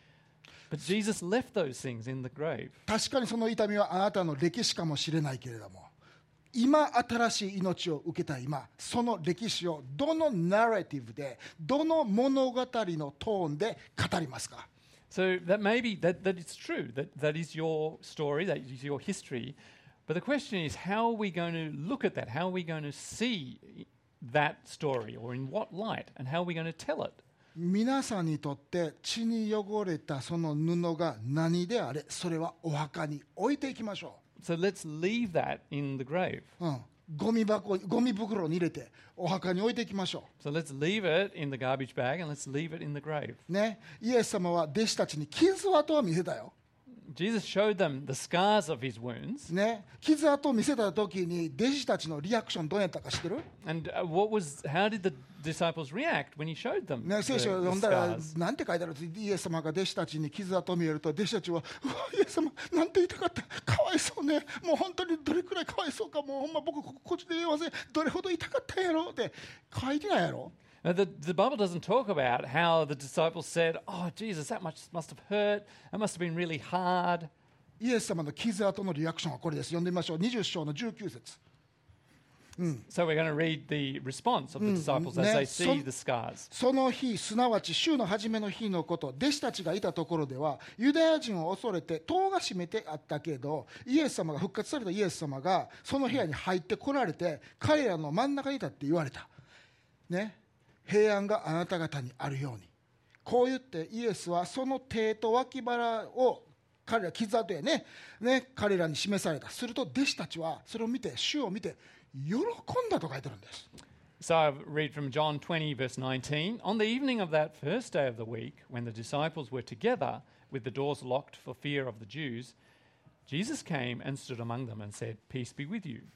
But Jesus left those things in the grave. 確かにその痛みはあなたの歴史かもしれないけれども今新しい命を受けた今その歴史をどのナレティブでどの物語のトーンで語りますか。 So that maybe that, that it's true, that, that is your story, that is your history. But the question is, how are we going to look at that? How are we going to see that story, or in what light, and how are we going to tell it? 皆さんにとって血に汚れたその布が何であれそれはお墓に置いていきましょ So let's leave that in the grave. う、うん、ゴミ箱ゴミ袋に入れてお墓に置いていきましょ So let's leave it in the garbage bag and let's leave it in the grave. うね。イエス様は弟子たちに傷跡は見せたよ。 Jesus showed them the scars of his wounds. ね、傷跡を見せた時に弟子たちのリアクションどうやったか知ってる？ And uh, what was, how did the disciples react when he showed them ね、 the, 聖書を the 読んだら scars? なんて書いてある？イエス様が弟子たちに傷跡を見えると弟子たちはうわイエス様なんて痛かったかわいそうねもう本当にどれくらいかわいそうかもうほんま僕こっちで言えませんどれほど痛かったんやろって書いてないやろ？ Now, the, the Bible doesn't talk about how the disciples said, oh, Jesus, that much must have hurt. That must have been really hard. イエス様の傷跡のリアクションはこれです。読んでみましょう。にじゅう章のじゅうきゅう節。 So we're going to read the response of the disciples as ne- they see son- the scars. その日すなわち週の初めの日のこと弟子たちがいたところではユダヤ人を恐れて戸が閉めてあったけどイエス様が復活されたイエス様がその部屋に入ってこられて彼らの真ん中に立って言われた、ね、平安があなた方にあるようにこう言ってイエスはその手と脇腹を彼ら傷跡やねね彼らに示された。すると弟子たちはそれを見て主を見て喜んだと書いてるんです。 So I read from John twenty, verse nineteen. On the evening of that first day of the week, when the disciples were together with the doors locked for fear of the Jews, Jesus came and stood among them and said, Peace be with you.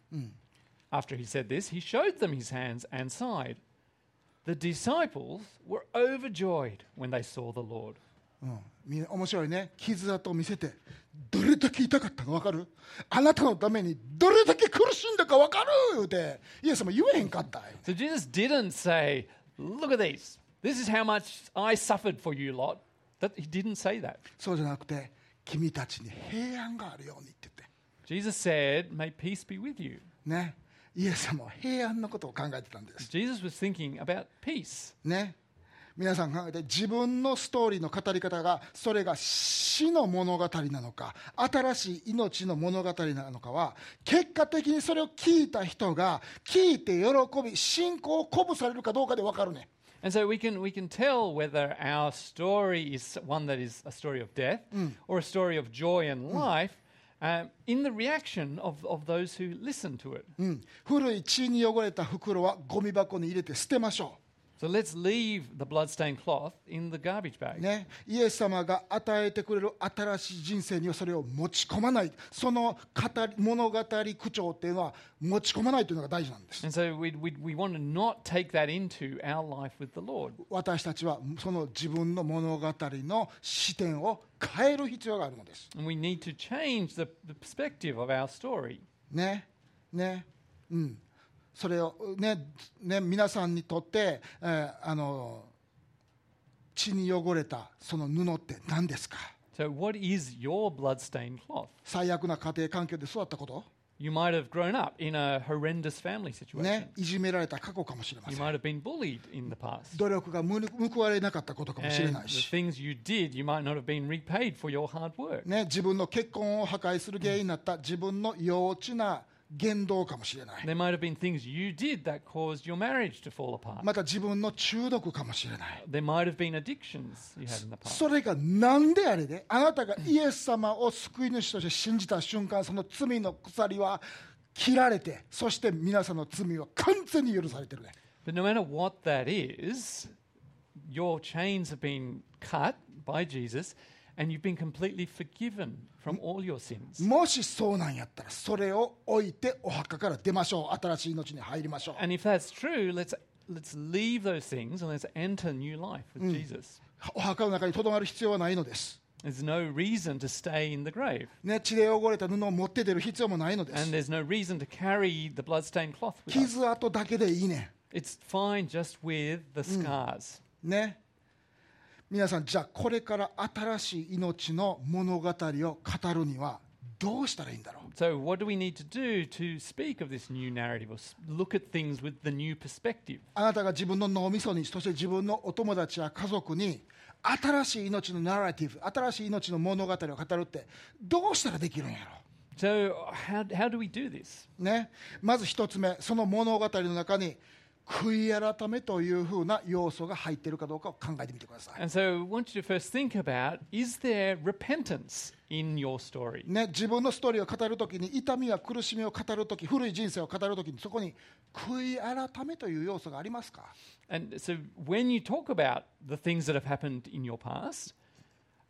After he said this, he showed them his hands and side. The disciples were overjoyed when they saw the Lord. うん、み面白いね。傷跡を見せてどれだけ痛かったか分かる？あなたのためにどれだけ苦しんだか分かる言うてイエス様言えへんかった。 So Jesus didn't say, look at these. This is how much I suffered for you lot. That, he didn't say that. そうじゃなくて君たちに平安があるようにって言って Jesus said, may peace be with you. ね。イエス様は平安のことを考えてたんです。 Jesus was thinking about peace. ね。皆さん考えて自分のストーリーの語り方がそれが死の物語なのか新しい命の物語なのかは結果的にそれを聞いた人が聞いて喜び信仰を鼓舞されるかどうかで分かるね。 And so we can, we can tell whether our story is one that is a story of death or a story of joy and life um, in the reaction of, of those who listen to it. うん、古い血に汚れた袋はゴミ箱に入れて捨てましょ So let's leave the bloodstained cloth in the garbage う、 bag. ね、イエス様が与えてくれる新しい人生にはそれを持ち込まないその語り物語口調っていうのは持ち込まないというのが大事なんです。 And so we, we, we want to not take that into our life with the Lord. 私たちはその自分の物語の視点を変える必要があるのです。 And we need to change the, the perspective of our story. ね、ね、うん。それをね、ね、皆さんにとって、えー、あの血に汚れたその布って何ですか？ So what is your bloodstained cloth? 最悪な家庭環境で育ったこと？ You might have grown up in a horrendous family situation. ね、いじめられた過去かもしれま You せん。 might have been bullied in the past. 努力がむ報われなかったことかもしれ And ない the し、 things you did, you might not have been repaid for your hard work. ね、自分の結婚を破壊する原因になった自分の幼稚な言動かもしれない。 There might have been things you did that caused your marriage to fall apart. また自分の中毒かもしれない。 There might have been addictions you had in the past. それがなんであれであなたがイエス様を救い主として信じた瞬間その罪の鎖は切られてそして皆さんの罪は完全に許されてるね。 But no matter what that is, your chains have been cut by Jesus and you've been completely forgiven from all your sins. もしそうなんやったらそれを置いてお墓から出ましょう。新しい命に入りましょう。 And if that's true, let's let's leave those things and let's enter new life with Jesus. お墓の中にとどまる必要はないのです。 There's no reason to stay in the grave. ね、血で汚れた布を持って出る必要もないので And す。 there's no reason to carry the bloodstained cloth with us. 傷跡だけでいいね。 It's fine just with the scars. ね。皆さんじゃあこれから新しい命の物語を語るにはどうしたらいいんだろう。 So what do we need to do to speak of this new narrative or s- look at things with the new perspective? あなたが自分の脳みそにそして自分のお友達や家族に新しい命のナラティブ新しい命の物語を語るってどうしたらできるんやろ So how, how do we do this? う、ね、まず一つ目その物語の中に悔い改めというふうな要素が入っているかどうかを考えてみてください、 And so I want you to first think about, is there repentance in your story? ね、自分のストーリーを語るときに痛みや苦しみを語るとき古い人生を語るときにそこに悔い改めという要素がありますか And so when you talk about the things that have happened in your past,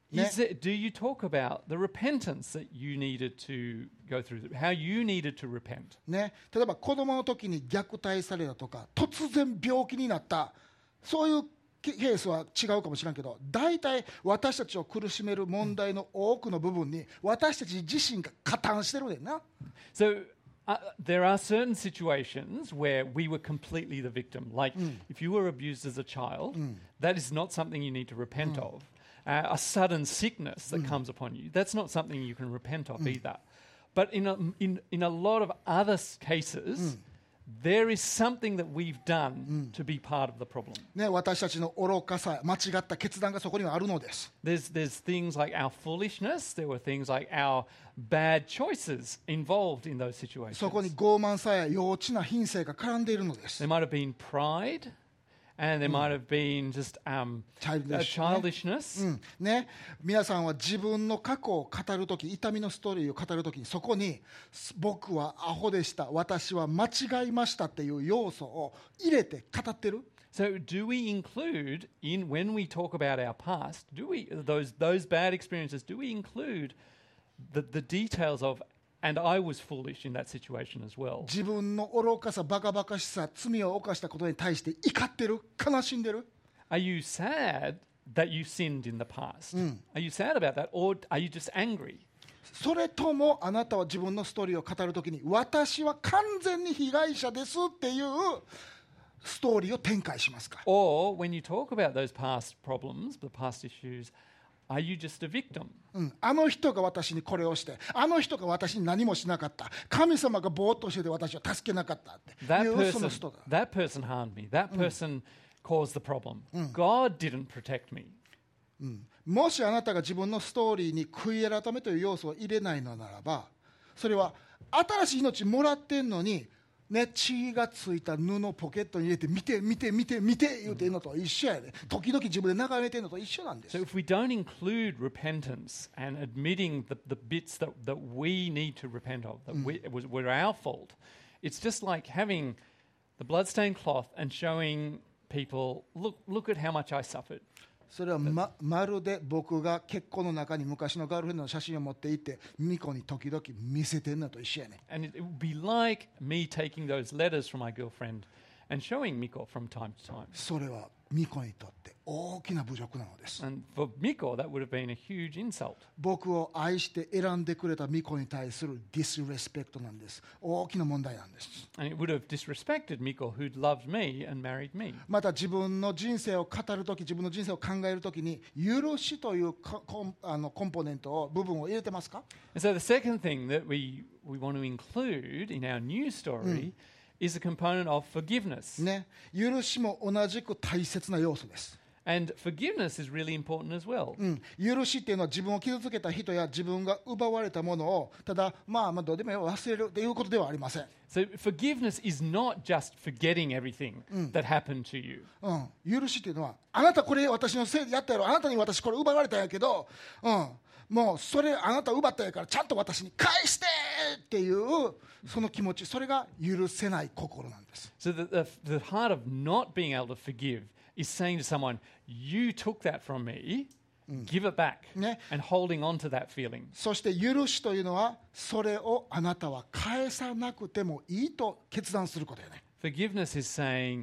Is it, do you talk about the repentance that you needed to go through, how you needed to repent? ね、例えば子供の時に虐待されたとか突然病気になった、そういうケースは違うかもしれんけど、大体私たちを苦しめる問題の多くの部分に私たち自身が加担してるねんな。 So uh, there are certain situations where we were completely the victim. Like if you were abused as a child, that is not something you need to repent of. Uh, a sudden sickness that comes upon you, that's not something you can repent of either. But in a, in, in a lot of other s- cases, there is something that we've done to be part of the problem. ね、私たちの愚かさ、間違った決断がそこにはあるのです。 There's, there's things like our foolishness, there were things like our bad choices involved in those situations. そこに傲慢さや幼稚な品性が絡んでいるのです。 There might have been pride, and there might have been just um, Childish, uh, childishness. うんね、皆さんは自分の過去を語るとき、痛みのストーリーを語るときに、そこに僕はアホでした、私は間違いましたっていう要素を入れて語ってる。 So, do we include in when we talk about our past? Do we those those bad experiences? Do we include the the details of? And I was foolish in that situation as well. 自分の愚かさ、バカバカしさ、罪を犯したことに対して怒ってる、悲しんでる。 Are you sad that you sinned in the past? Are you sad about that, or are you just angry? それともあなたは自分のストーリーを語るときに、私は完全に被害者ですっていうストーリーを展開しますか。 Or when you talk about those past problems, the past issues, are you just a victim? うん、あの人が私にこれをして、あの人が私に何もしなかった、神様がぼーっとしてて私を助けなかったってい That うその person, 人だ。 that person harmed me. That person caused the problem. God didn't protect me. もしあなたが自分のストーリーに悔い改めという要素を入れないのならば、それは新しい命もらってんのに、ね、血がついた布をポケットに入れて見て見て見て見て言うてんのと一緒やで。時々自分で眺めてんのと一緒なんです So。if we don't include repentance and admitting the, the bits that, that we need to repent of, that we, it was, were our fault, it's just like having the bloodstained cloth and showing people, look, look at how much I suffered. それは ま, まるで僕が結婚の中に昔のガールフレンドの写真を持っていってミコに時々見せてんのと一緒やね。 And it, it would be like me taking those letters from my girlfriend and showing Miko from time to time. それはミコにとって大きな侮辱なのです。 And for Miko, that would have been a huge insult. 僕を愛して選んでくれたミコに対するディスレスペクトなんです。大きな問題なんです。 And it would have disrespected Miko, who'd loved me and married me. また自分の人生を語るとき、自分の人生を考えるときに許しというかコンあのコンポーネントを部分を入れてますか？ And so the second thing that we, we want to include in our news story is a component of forgiveness. ね、許しも同じく大切な要素です。 And forgiveness is really important as well. うん、許しっていうのは自分を傷つけた人や自分が奪われたものをただまあまあどうでもいいよ忘れるということではありません。 So forgiveness is not just forgetting everything that happened to you. うん、許しっていうのはあなたこれ私のせいでやったやろ、あなたに私これ奪われたんやけど、うん、もうそれあなた奪ったんやからちゃんと私に返してっていうその気持ち、それが許せない心なんです。 So the, the, the heart of not being able to forgive is saying to someone, you took that from me, give it back, ね、 and holding on to that feeling. そして許しというのはそれをあなたは返さなくてもいいと決断することよね。 Forgiveness is saying,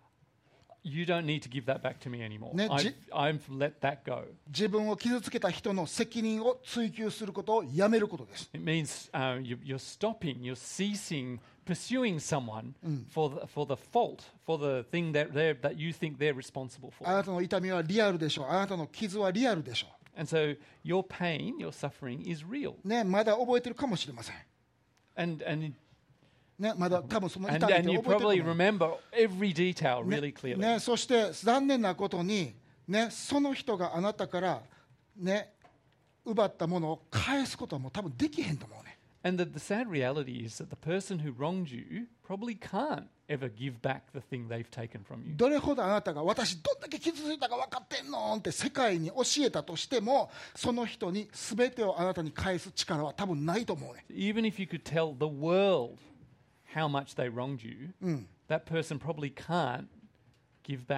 you don't need to give that back to me anymore. ね、 I've, じ I've let that go. 自分を傷つけた人の責任を追及することをやめることです。 It means uh, you, you're stopping, you're ceasing pursuing someone for, the, for the fault, for the thing that, they're, that you think they're responsible あ for. なたの痛みはリアルでしょう。あなたの傷はリアルでしょ And so your pain, your suffering is real. う。ね、まだ覚えてるかもしれません。 And, and, ね、まだ多分その and, 痛みっ and て you 覚えて probably ると思う。 remember every detail really clearly. ね、そして残念なことに、ね、その人があなたから、ね、奪ったものを返すことはもう多分できへんと思うね。 And the, the sad reality is that the person who wronged you probably can't ever give back the thing they've taken from you. どれほどあなたが私どんだけ傷ついたか分かってんのって世界に教えたとしても、その人に全てをあなたに返す力は多分ないと思うね。 Even if you could tell the world how much they wronged you, that person probably can't give back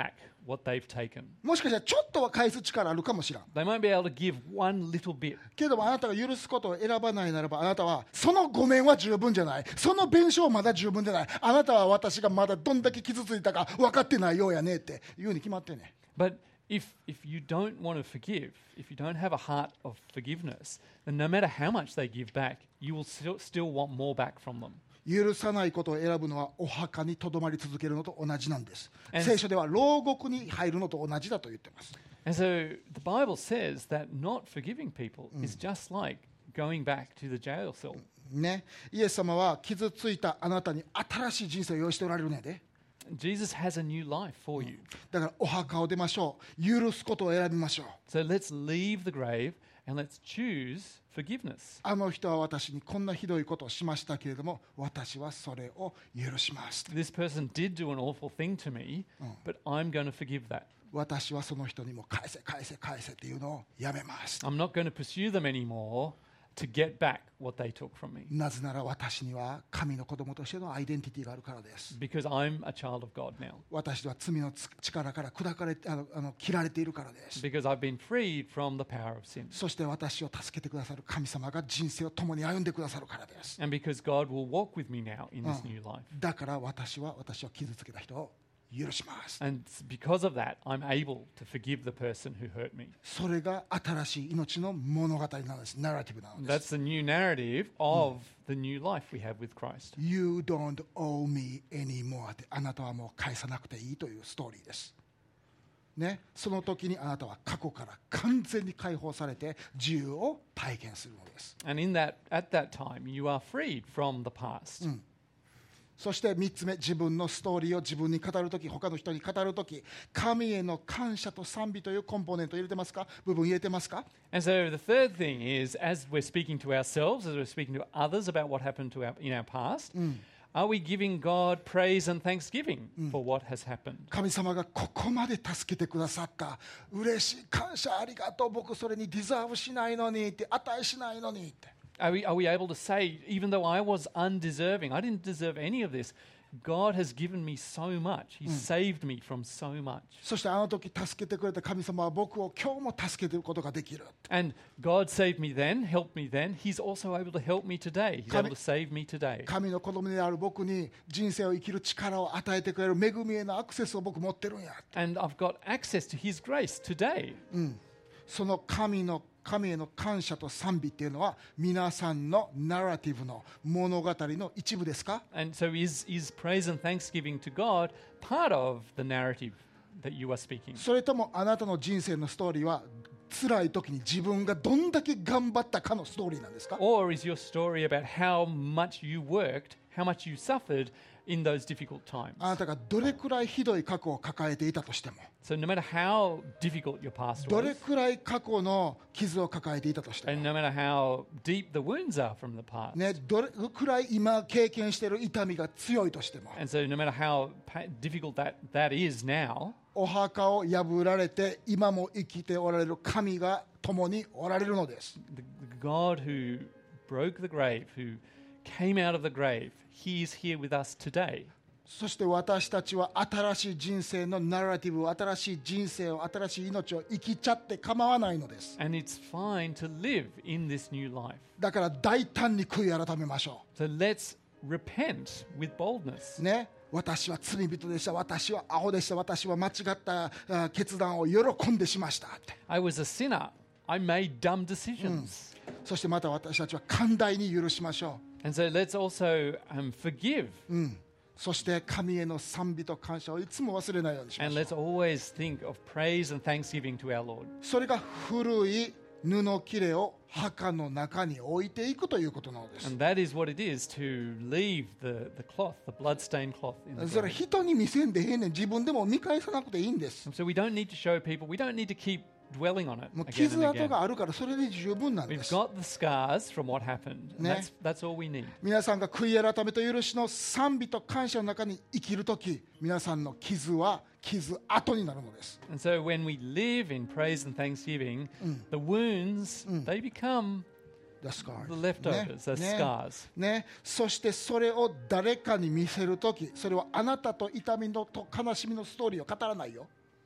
what they've taken. もしかしたらちょっとは返す力あるかもしれん。 They might be able to give one little bit. けれどもあなたが許すことを選ばないならば、あなたはそのごめんは十分じゃない、その弁償はまだ十分じゃない、あなたは私がまだどんだけ傷ついたか分かってないようやねっていうに決まってんね。 But if, if you don't want to forgive, if you don't have a heart of forgiveness, then no matter how much they give back, you will still, still want more back from them. 許さないことを選ぶのはお墓にとどまり続けるのと同じなんです。 And- 聖書では牢獄に入るのと同じだと言ってます。 And so the Bible says that not forgiving people is just like going back to the jail cell. ね、イエス様は傷ついたあなたに新しい人生を用意しておられるねんで。 Jesus has a new life for you. だからお墓を出ましょう。許すことを選びましょう。 So let's leave the grave and let's choose forgiveness. あの人は私にこんなひどいことをしましたけれども、私はそれを許します。 This person did do an awful thing to me, but I'm going to forgive that. 私はその人にも返せ返せ返せっていうのをやめます。 I'm not going to pursue them anymore to get back what they took from me なぜなら私には神の子供としてのアイデンティティがあるからです。 because I'm a child of God now. 私は罪の力から砕かれてあのあの切られているからです。 Because I've been freed from the power of sin. そして私を助けてくださる神様が人生を共に歩んでくださるからです。 And because God will walk with me now in this new life. だから私は私を傷つけた人を許します。 And because of that, I'm able to forgive the person who hurt me. それが新しい命の物語なんです。ナラティブなのです。 That's the new narrative of the new life we have with Christ. You don't owe me anymore って、あなたはもう返さなくていいというストーリーです。ね、その時にあなたは過去から完全に解放されて自由を体験するのです。 And in that, at that time, you are freed from the past. そしてみっつめ、自分のストーリーを自分に語るとき、他の人に語るとき、神への感謝と賛美というコンポーネント入れてますか？部分入れてますか？ And so the third thing is, as we're speaking to ourselves, as we're speaking to others about what happened to our, in our past, are we giving God praise and thanksgiving for what has happened? 神様がここまで助けてくださった、嬉しい、感謝ありがとう、僕それにディザーブしないのにって、値しないのにって。 Are we, are we able to say, even though I was undeserving, I didn't deserve any of this, God has given me so much. He saved me from so much. そしてあの時助けてくれた神様は僕を今日も助けていることができる。 And God saved me then, helped me then. He's also able to help me today. He's Kami- able to save me today. 神の子供である僕に人生を生きる力を与えてくれる恵みへのアクセスを僕持ってるんや。 And I've got access to His grace today. その神の神への感謝と賛美っていうのは皆さんのナラティブの物語の一部ですか？ And so is, is praise and thanksgiving to God part of the narrative that you are speaking? それともあなたの人生のストーリーは辛い時に自分がどんだけ頑張ったかのストーリーなんですか？ Or is your story about how much you worked, how much you suffered in those difficult times? あなたがどれくらいひどい過去を抱えていたとしても、 So no matter how difficult your past ど was, れくらい過去の傷を抱えていたとしても、 and no matter how deep the wounds are from the past, ね、どれくらい今経験している痛みが強いとしても、 and so no matter how pa- difficult that, that is now, お墓を破られて今も生きておられる神が共におられるのです。 the, the God who broke the grave, who came out of the grave, He is here with us today. そして私たちは新しい人生のナラティブを、新しい人生を、新しい命を生きちゃって構わないのです。 And it's fine to live in this new life. だから大胆に悔い改めましょ So let's repent with boldness. う。ね、私は罪人でした、私はアホでした、私は間違ったあ決断を喜んでしましたって。 I was a sinner. I made dumb decisions. そしてまた私たちは寛大に許しましょ And so let's also um, forgive. う。うん。そして神への賛美と感謝をいつも忘れないようにしま And しょ let's always think of praise and thanksgiving to our Lord. う。それが古い布切れを墓の中に置いていくということなのです。 And that is what it is to leave the, the cloth, the blood-stained cloth in the それ grave. 人に見せんでええねん。自分でも見返さなくていいんです。 So we don't need to show people. We don't need to keep dwelling on it もう again 傷 and 跡 again. があるからそれで十分なんで We've す。 got the scars from what happened. And Ne. that's, that's all we need. 皆さんが悔い改めと許しの賛美と感謝の中に生きるとき、皆さんの傷は傷跡になるのです。 And so when we live in praise and thanksgiving, the wounds, they become The scars. the leftovers, the ね scars. ね、そしてそれを誰かに見せるとき、それはあなたと痛みのと悲しみのストーリーを語らないよ。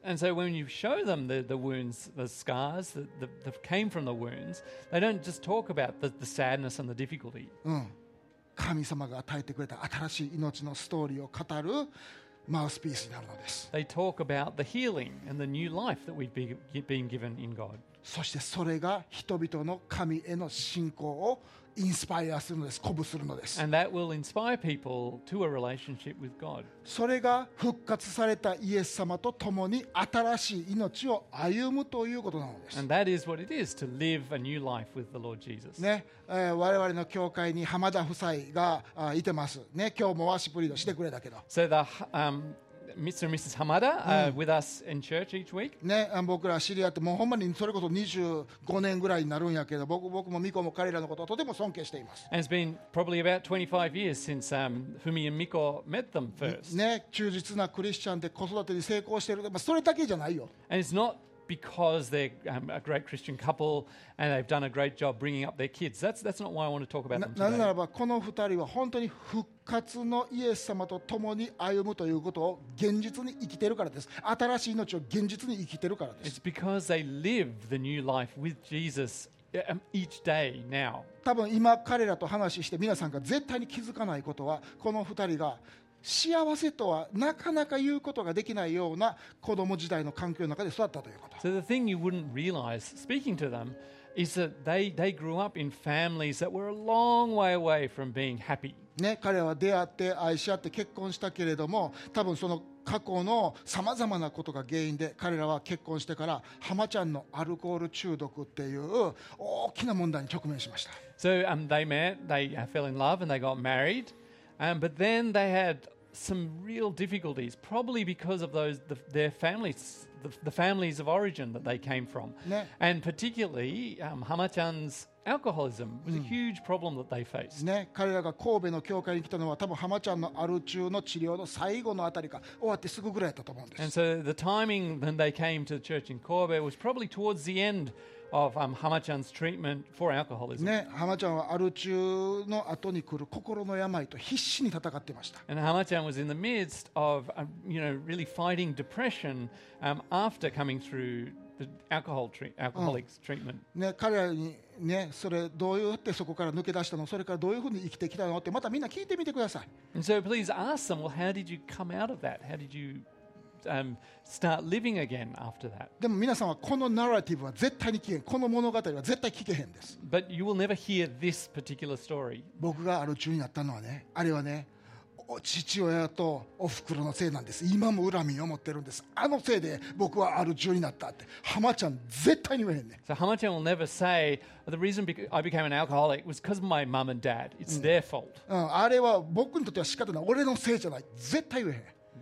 And so when you show them the, the wounds, the scars that, that, that came from the wounds, they don't just talk about the, the sadness and the difficulty. うん、神様が与えてくれた新しい命のストーリーを語るマウスピースになるのです。 They talk about the healing and the new life that we've be, been given in God. そしてそれが人々の神への信仰をインスパイアするのです。鼓舞するのです。 And that will inspire people to a relationship with God. それが復活されたイエス様と共に新しい命を歩むということなのです。 And that is what it is to live a new life with the Lord Jesus. ね、えー、我々の教会に浜田夫妻があいてます。ね、今日もワーシップリードしてくれたけど。 So the um, Mister and Missus Hamada are with us in church each week. ね、僕ら知り合ってもうほんまにそれこそにじゅうごねんぐらいになるんやけど、僕僕もミコも彼らのことをとても尊敬しています。 And it's been probably about twenty-five years since um, Fumi and Miko met them first. ね、忠実なクリスチャンで子育てに成功している。まあそれだけじゃないよ。 And it's not because they're um, a great Christian couple and they've done a great job bringing up their kids. That's that's not why I want to talk about them なぜなら today. ばこの二人は本当に復活のイエス様と共に歩むということを現実に生きているからです。新しい命を現実に生きているからです。 It's because they live the new life with Jesus um, each day now. 多分今彼らと話して皆さんが絶対に気づかないことは、この二人が幸せとはなかなか言うことができないような子供時代の環境の中で育ったということ。 So the thing you wouldn't realize speaking to them is that they, they grew up in families that were a long way away from being happy. ね、彼らは出会って愛し合って結婚したけれども、多分その過去のさまざまなことが原因で彼らは結婚してから浜ちゃんのアルコール中毒っていう大きな問題に直面しました。 So um, they met, they uh, fell in love and they got married, um, but then they had some real difficulties, probably because of those the, their families, the, the families of origin that they came from, Ne. and particularly um, Hama-chan's alcoholism was a huge problem that they faced. ね、彼らが神戸の教会に来たのは多分浜ちゃんのアル中の治療の最後のあたりか終わってすぐぐらいだったと思うんで And す。 so the timing when they came to the church in Kobe was probably towards the end of um, Hama-chan's treatment for alcoholism. ね、浜ちゃんはアル中の後に来る心の病と必死に戦っていました。 And Hama-chan was in the midst of, um, you know, really fighting depression um, after coming through the alcohol treat, alcoholics treatment. ね、彼らにね、それどうやってそこから抜け出したの、それからどういうふうに生きてきたのってまたみんな聞いてみてください。 And so please ask them, well, how did you come out of that? How did you um, start living again after that? でも皆さんはこのナラティブは絶対に聞けへん。この物語は絶対聞けへんです。 But you will never hear this particular story. 僕がアル中になったのはね、あれはね、お父親とお袋のせいなんです。今も恨みを持ってるんです。あのせいで僕はアル中になったって浜ちゃん絶対に言えへんね。 So Hama-chan will never say, the reason bec- I became an alcoholic was because of my mum and dad. It's their fault. うん、あれは僕にとっては仕方ない。俺のせいじゃない。絶対言えへん。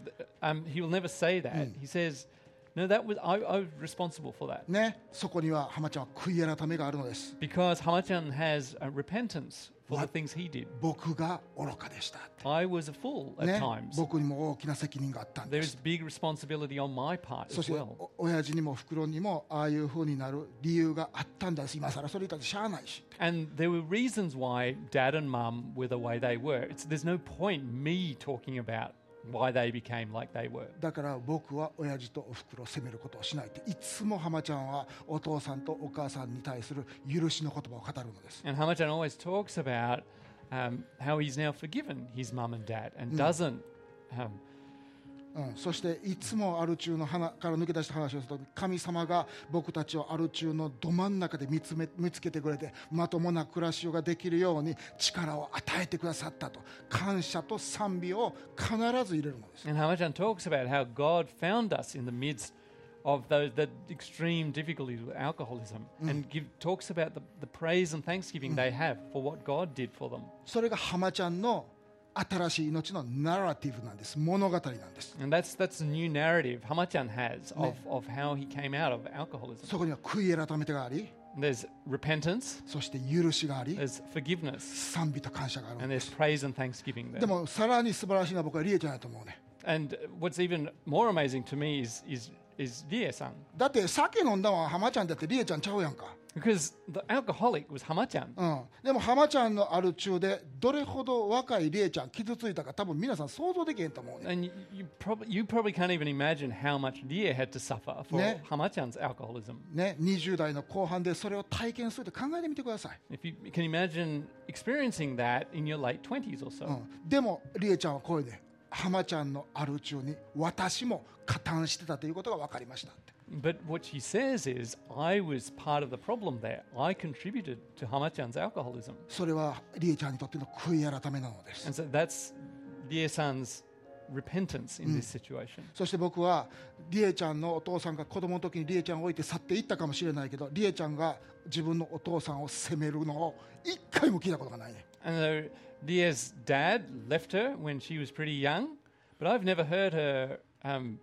Um, he will never say that. He says, no, that was I, I was responsible for that. ね、そこには浜ちゃんは悔い改めがあるのです。 Because Hama-chan has a repentance for the things he did. 僕が愚かでしたって。 I was a fool at ね、 times. 僕にも大きな責任があったんで There す is。big responsibility on my part そ as して well. お親父にも袋にもああいう風になる理由があったんです今更それ言ったってしゃあないし And there were reasons why dad and mum were the way they were. It's, there's no point me talking about why they became like they were. だから僕は親父とお袋を責めることをしないっていつも浜ちゃんはお父さんとお母さんに対する許しの言葉を語るのです And Hama-chan always talks about um, how he's now forgiven his mum and dad and doesn't um, うん、そしていつもアル中の花から抜け出した話をすると神様が僕たちをアル中のど真ん中で見つめ見つけてくれてまともな暮らしができるように力を与えてくださったと感謝と賛美を必ず入れるのです And Hama-chan talks about how God found us in the midst of those the extreme difficulties with alcoholism and give, talks about the, the praise and thanksgiving they have for what God did for them. それが浜ちゃんの新しい命のナラティブなんです物語なんです And that's that's a new narrative Hama-chan has of, of how he came out of alcoholism. そこには悔い改めてがあり There's repentance, そして許しがあり there's forgiveness, 賛美と感謝がある and の there's praise and thanksgiving で there. もさらに素晴らしいのは僕はリエちゃんだと思うね And what's even more amazing to me is is is Rie-san. だって酒飲んだのは浜ちゃんだってリエちゃんちゃうやんか Because the alcoholic was Hamachan. うん、でも浜ちゃんのアル中でどれほど若いリエちゃん傷ついたか多分皆さん想像できへんと思うね。 And you, you, prob- you probably can't even imagine how much Lia had to suffer for Ne. Hamachan's alcoholism. ね、にじゅう代の後半でそれを体験するって考えてみてください。 If you can imagine experiencing that in your late twenties or so. うん、でもリエちゃんはこれで浜ちゃんのアル中に私も加担してたということが分かりましたって。 But what she says is, I was part of the problem there. I contributed to Hamachan's alcoholism. それはリエちゃんにとっての悔い改めなのです。 And so that's Lia-san's repentance in this situation. そして僕はリエちゃんのお父さんが子供の時にリエちゃんを置いて去っていったかもしれないけど、リエちゃんが自分のお父さんを責めるのを一回も聞いたことがないね。 And so Lia's dad left her when she was pretty young, but I've never heard her um,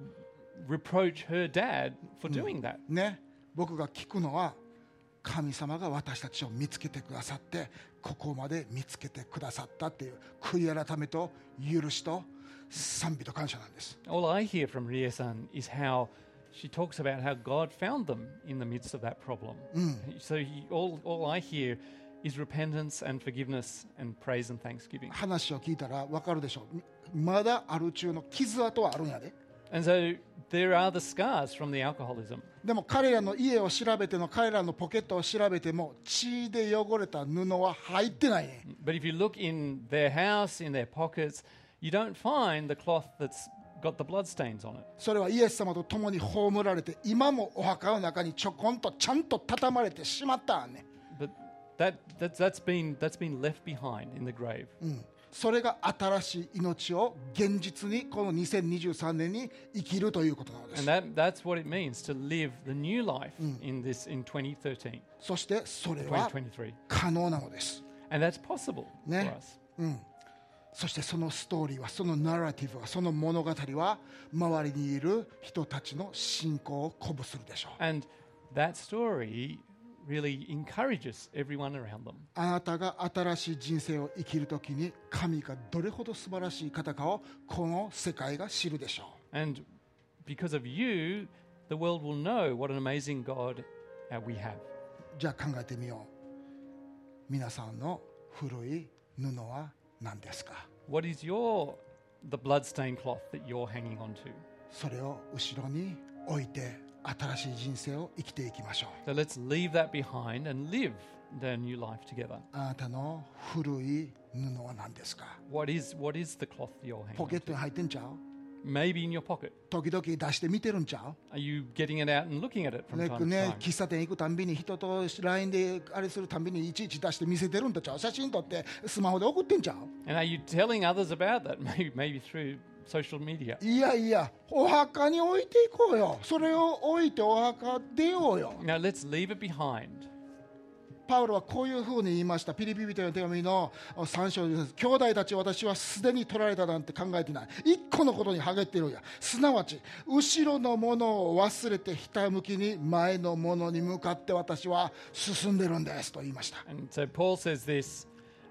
reproach her dad for doing that. ね、僕が聞くのは神様が私たちを見つけてくださってここまで見つけてくださったっていう悔い改めと許しと賛美と感謝なんです。 All I hear from Ria-san is how she talks about how God found them in the midst of that problem. So he, all, all I hear is repentance and forgiveness and praise and thanksgiving. 話を聞いたら分かるでしょう。まだある中の傷跡はあるんやで。 And so there are the scars from the alcoholism. でも彼らの家を調べても彼らのポケットを調べても血で汚れた布は入ってないね。 But if you look in their house, in their pockets, you don't find the cloth that's got the bloodstains on it. それはイエス様と共に葬られて今もお墓の中にちょこんとちゃんと畳まれてしまったんね。 But that, that's, that's, been, that's been left behind in the grave. うんそれが新しい命を現実にこのにせんにじゅうさんねんに生きるということなのです。 And that, that's what it means to live the new life in this in twenty thirteen, そしてそれは twenty twenty-three. 可能なのです。 And that's possible Ne. for us. そしてそのストーリーはそのナラティブはその物語は周りにいる人たちの信仰を鼓舞するでしょう。 And that story really encourages everyone around them. あなたが新しい人生を生きるときに神がどれほど素晴らしい方かをこの世界が知るでしょう。 And because of you, the world will know what an amazing God uh, we have. じゃあ考えてみよう。皆さんの古い布は何ですか？ What is your the bloodstained cloth that you're hanging on to? それを後ろに置いて新しい人生を生きていきましょう。 So let's leave that behind and live the new life together. あなたの古い布は何ですか？ What is what is the cloth that you're hanging ポケ on ットに入ってんちゃう？ to? Maybe in your pocket. 時々出して見てるんちゃ Are you getting it out and looking at it う from ね time to ね time? 喫茶店行くたんびに人と ライン であれするたんびにいちいち出して見せてるんとちゃう？写真撮ってスマホで送ってんちゃう？ And are you telling others about that? Maybe maybe through social media. いやいやお墓に置いていこうよ。それを置いてお墓出ようよ。 Now let's leave it behind. パウロはこういうふうに言いました。ピリピ人への手紙のさん章です。兄弟たち、私はすでに取られたなんて考えてない。一個のことに励っているんや。すなわち後ろのものを忘れてひたむきに前のものに向かって私は進んでるんですと言いました。 And so Paul says this,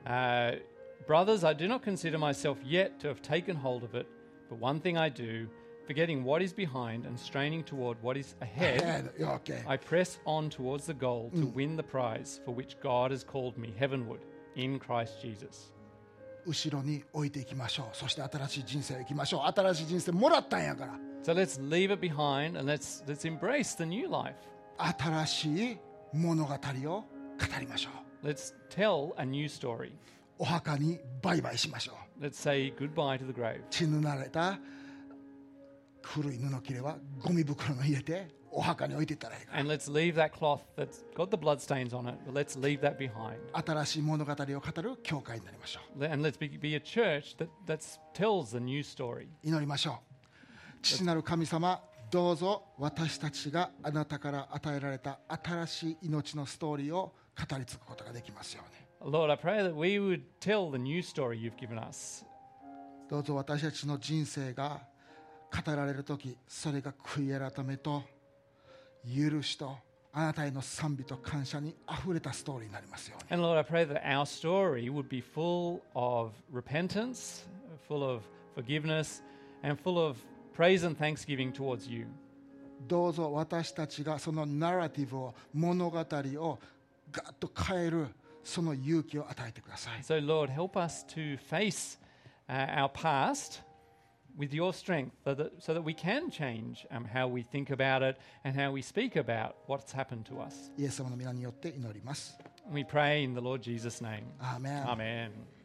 uh, brothers, I do not consider myself yet to have taken hold of it, but one thing I do, forgetting what is behind and straining toward what is ahead, Okay. I press on towards the goal to win the prize for which God has called me heavenward in Christ Jesus. 後ろに置いていきましょう。そして新しい人生を生きましょう。新しい人生もらったんやから。 So let's leave it behind and let's let's embrace the new life. 新しい物語を語りましょう。 Let's tell a new story. お墓にバイバイしましょう。 Let's say goodbye to the grave. 血塗られた古い布切れはゴミ袋に入れてお墓に置いていったらいいか And let's leave that cloth that's got the bloodstains on it, but let's leave that behind. ら。新しい物語を語る教会になりましょう。 And let's be, be a church that that's, tells the new story. 祈りましょう。父なる神様、どうぞ私たちがあなたから与えられた新しい命のストーリーを語り継ぐことができますように。 Lord, I pray that we would tell the new story you've given us. どうぞ私たちの人生が語られるとき、それが悔い改めと許しとあなたへの賛美と感謝にあふれたストーリーになりますように。 And Lord, I pray that our story would be full of repentance, full of forgiveness, and full of praise and thanksgiving towards you. どうぞ私たちがそのナラティブを、物語をガッと変えるその勇気を与えてください。 So, Lord, help us to face uh, our past with your strength so that, so that we can change um, how we think about it and how we speak about what's happened to us. イエス様の皆によって祈ります。 We pray in the Lord Jesus' name. Amen. Amen.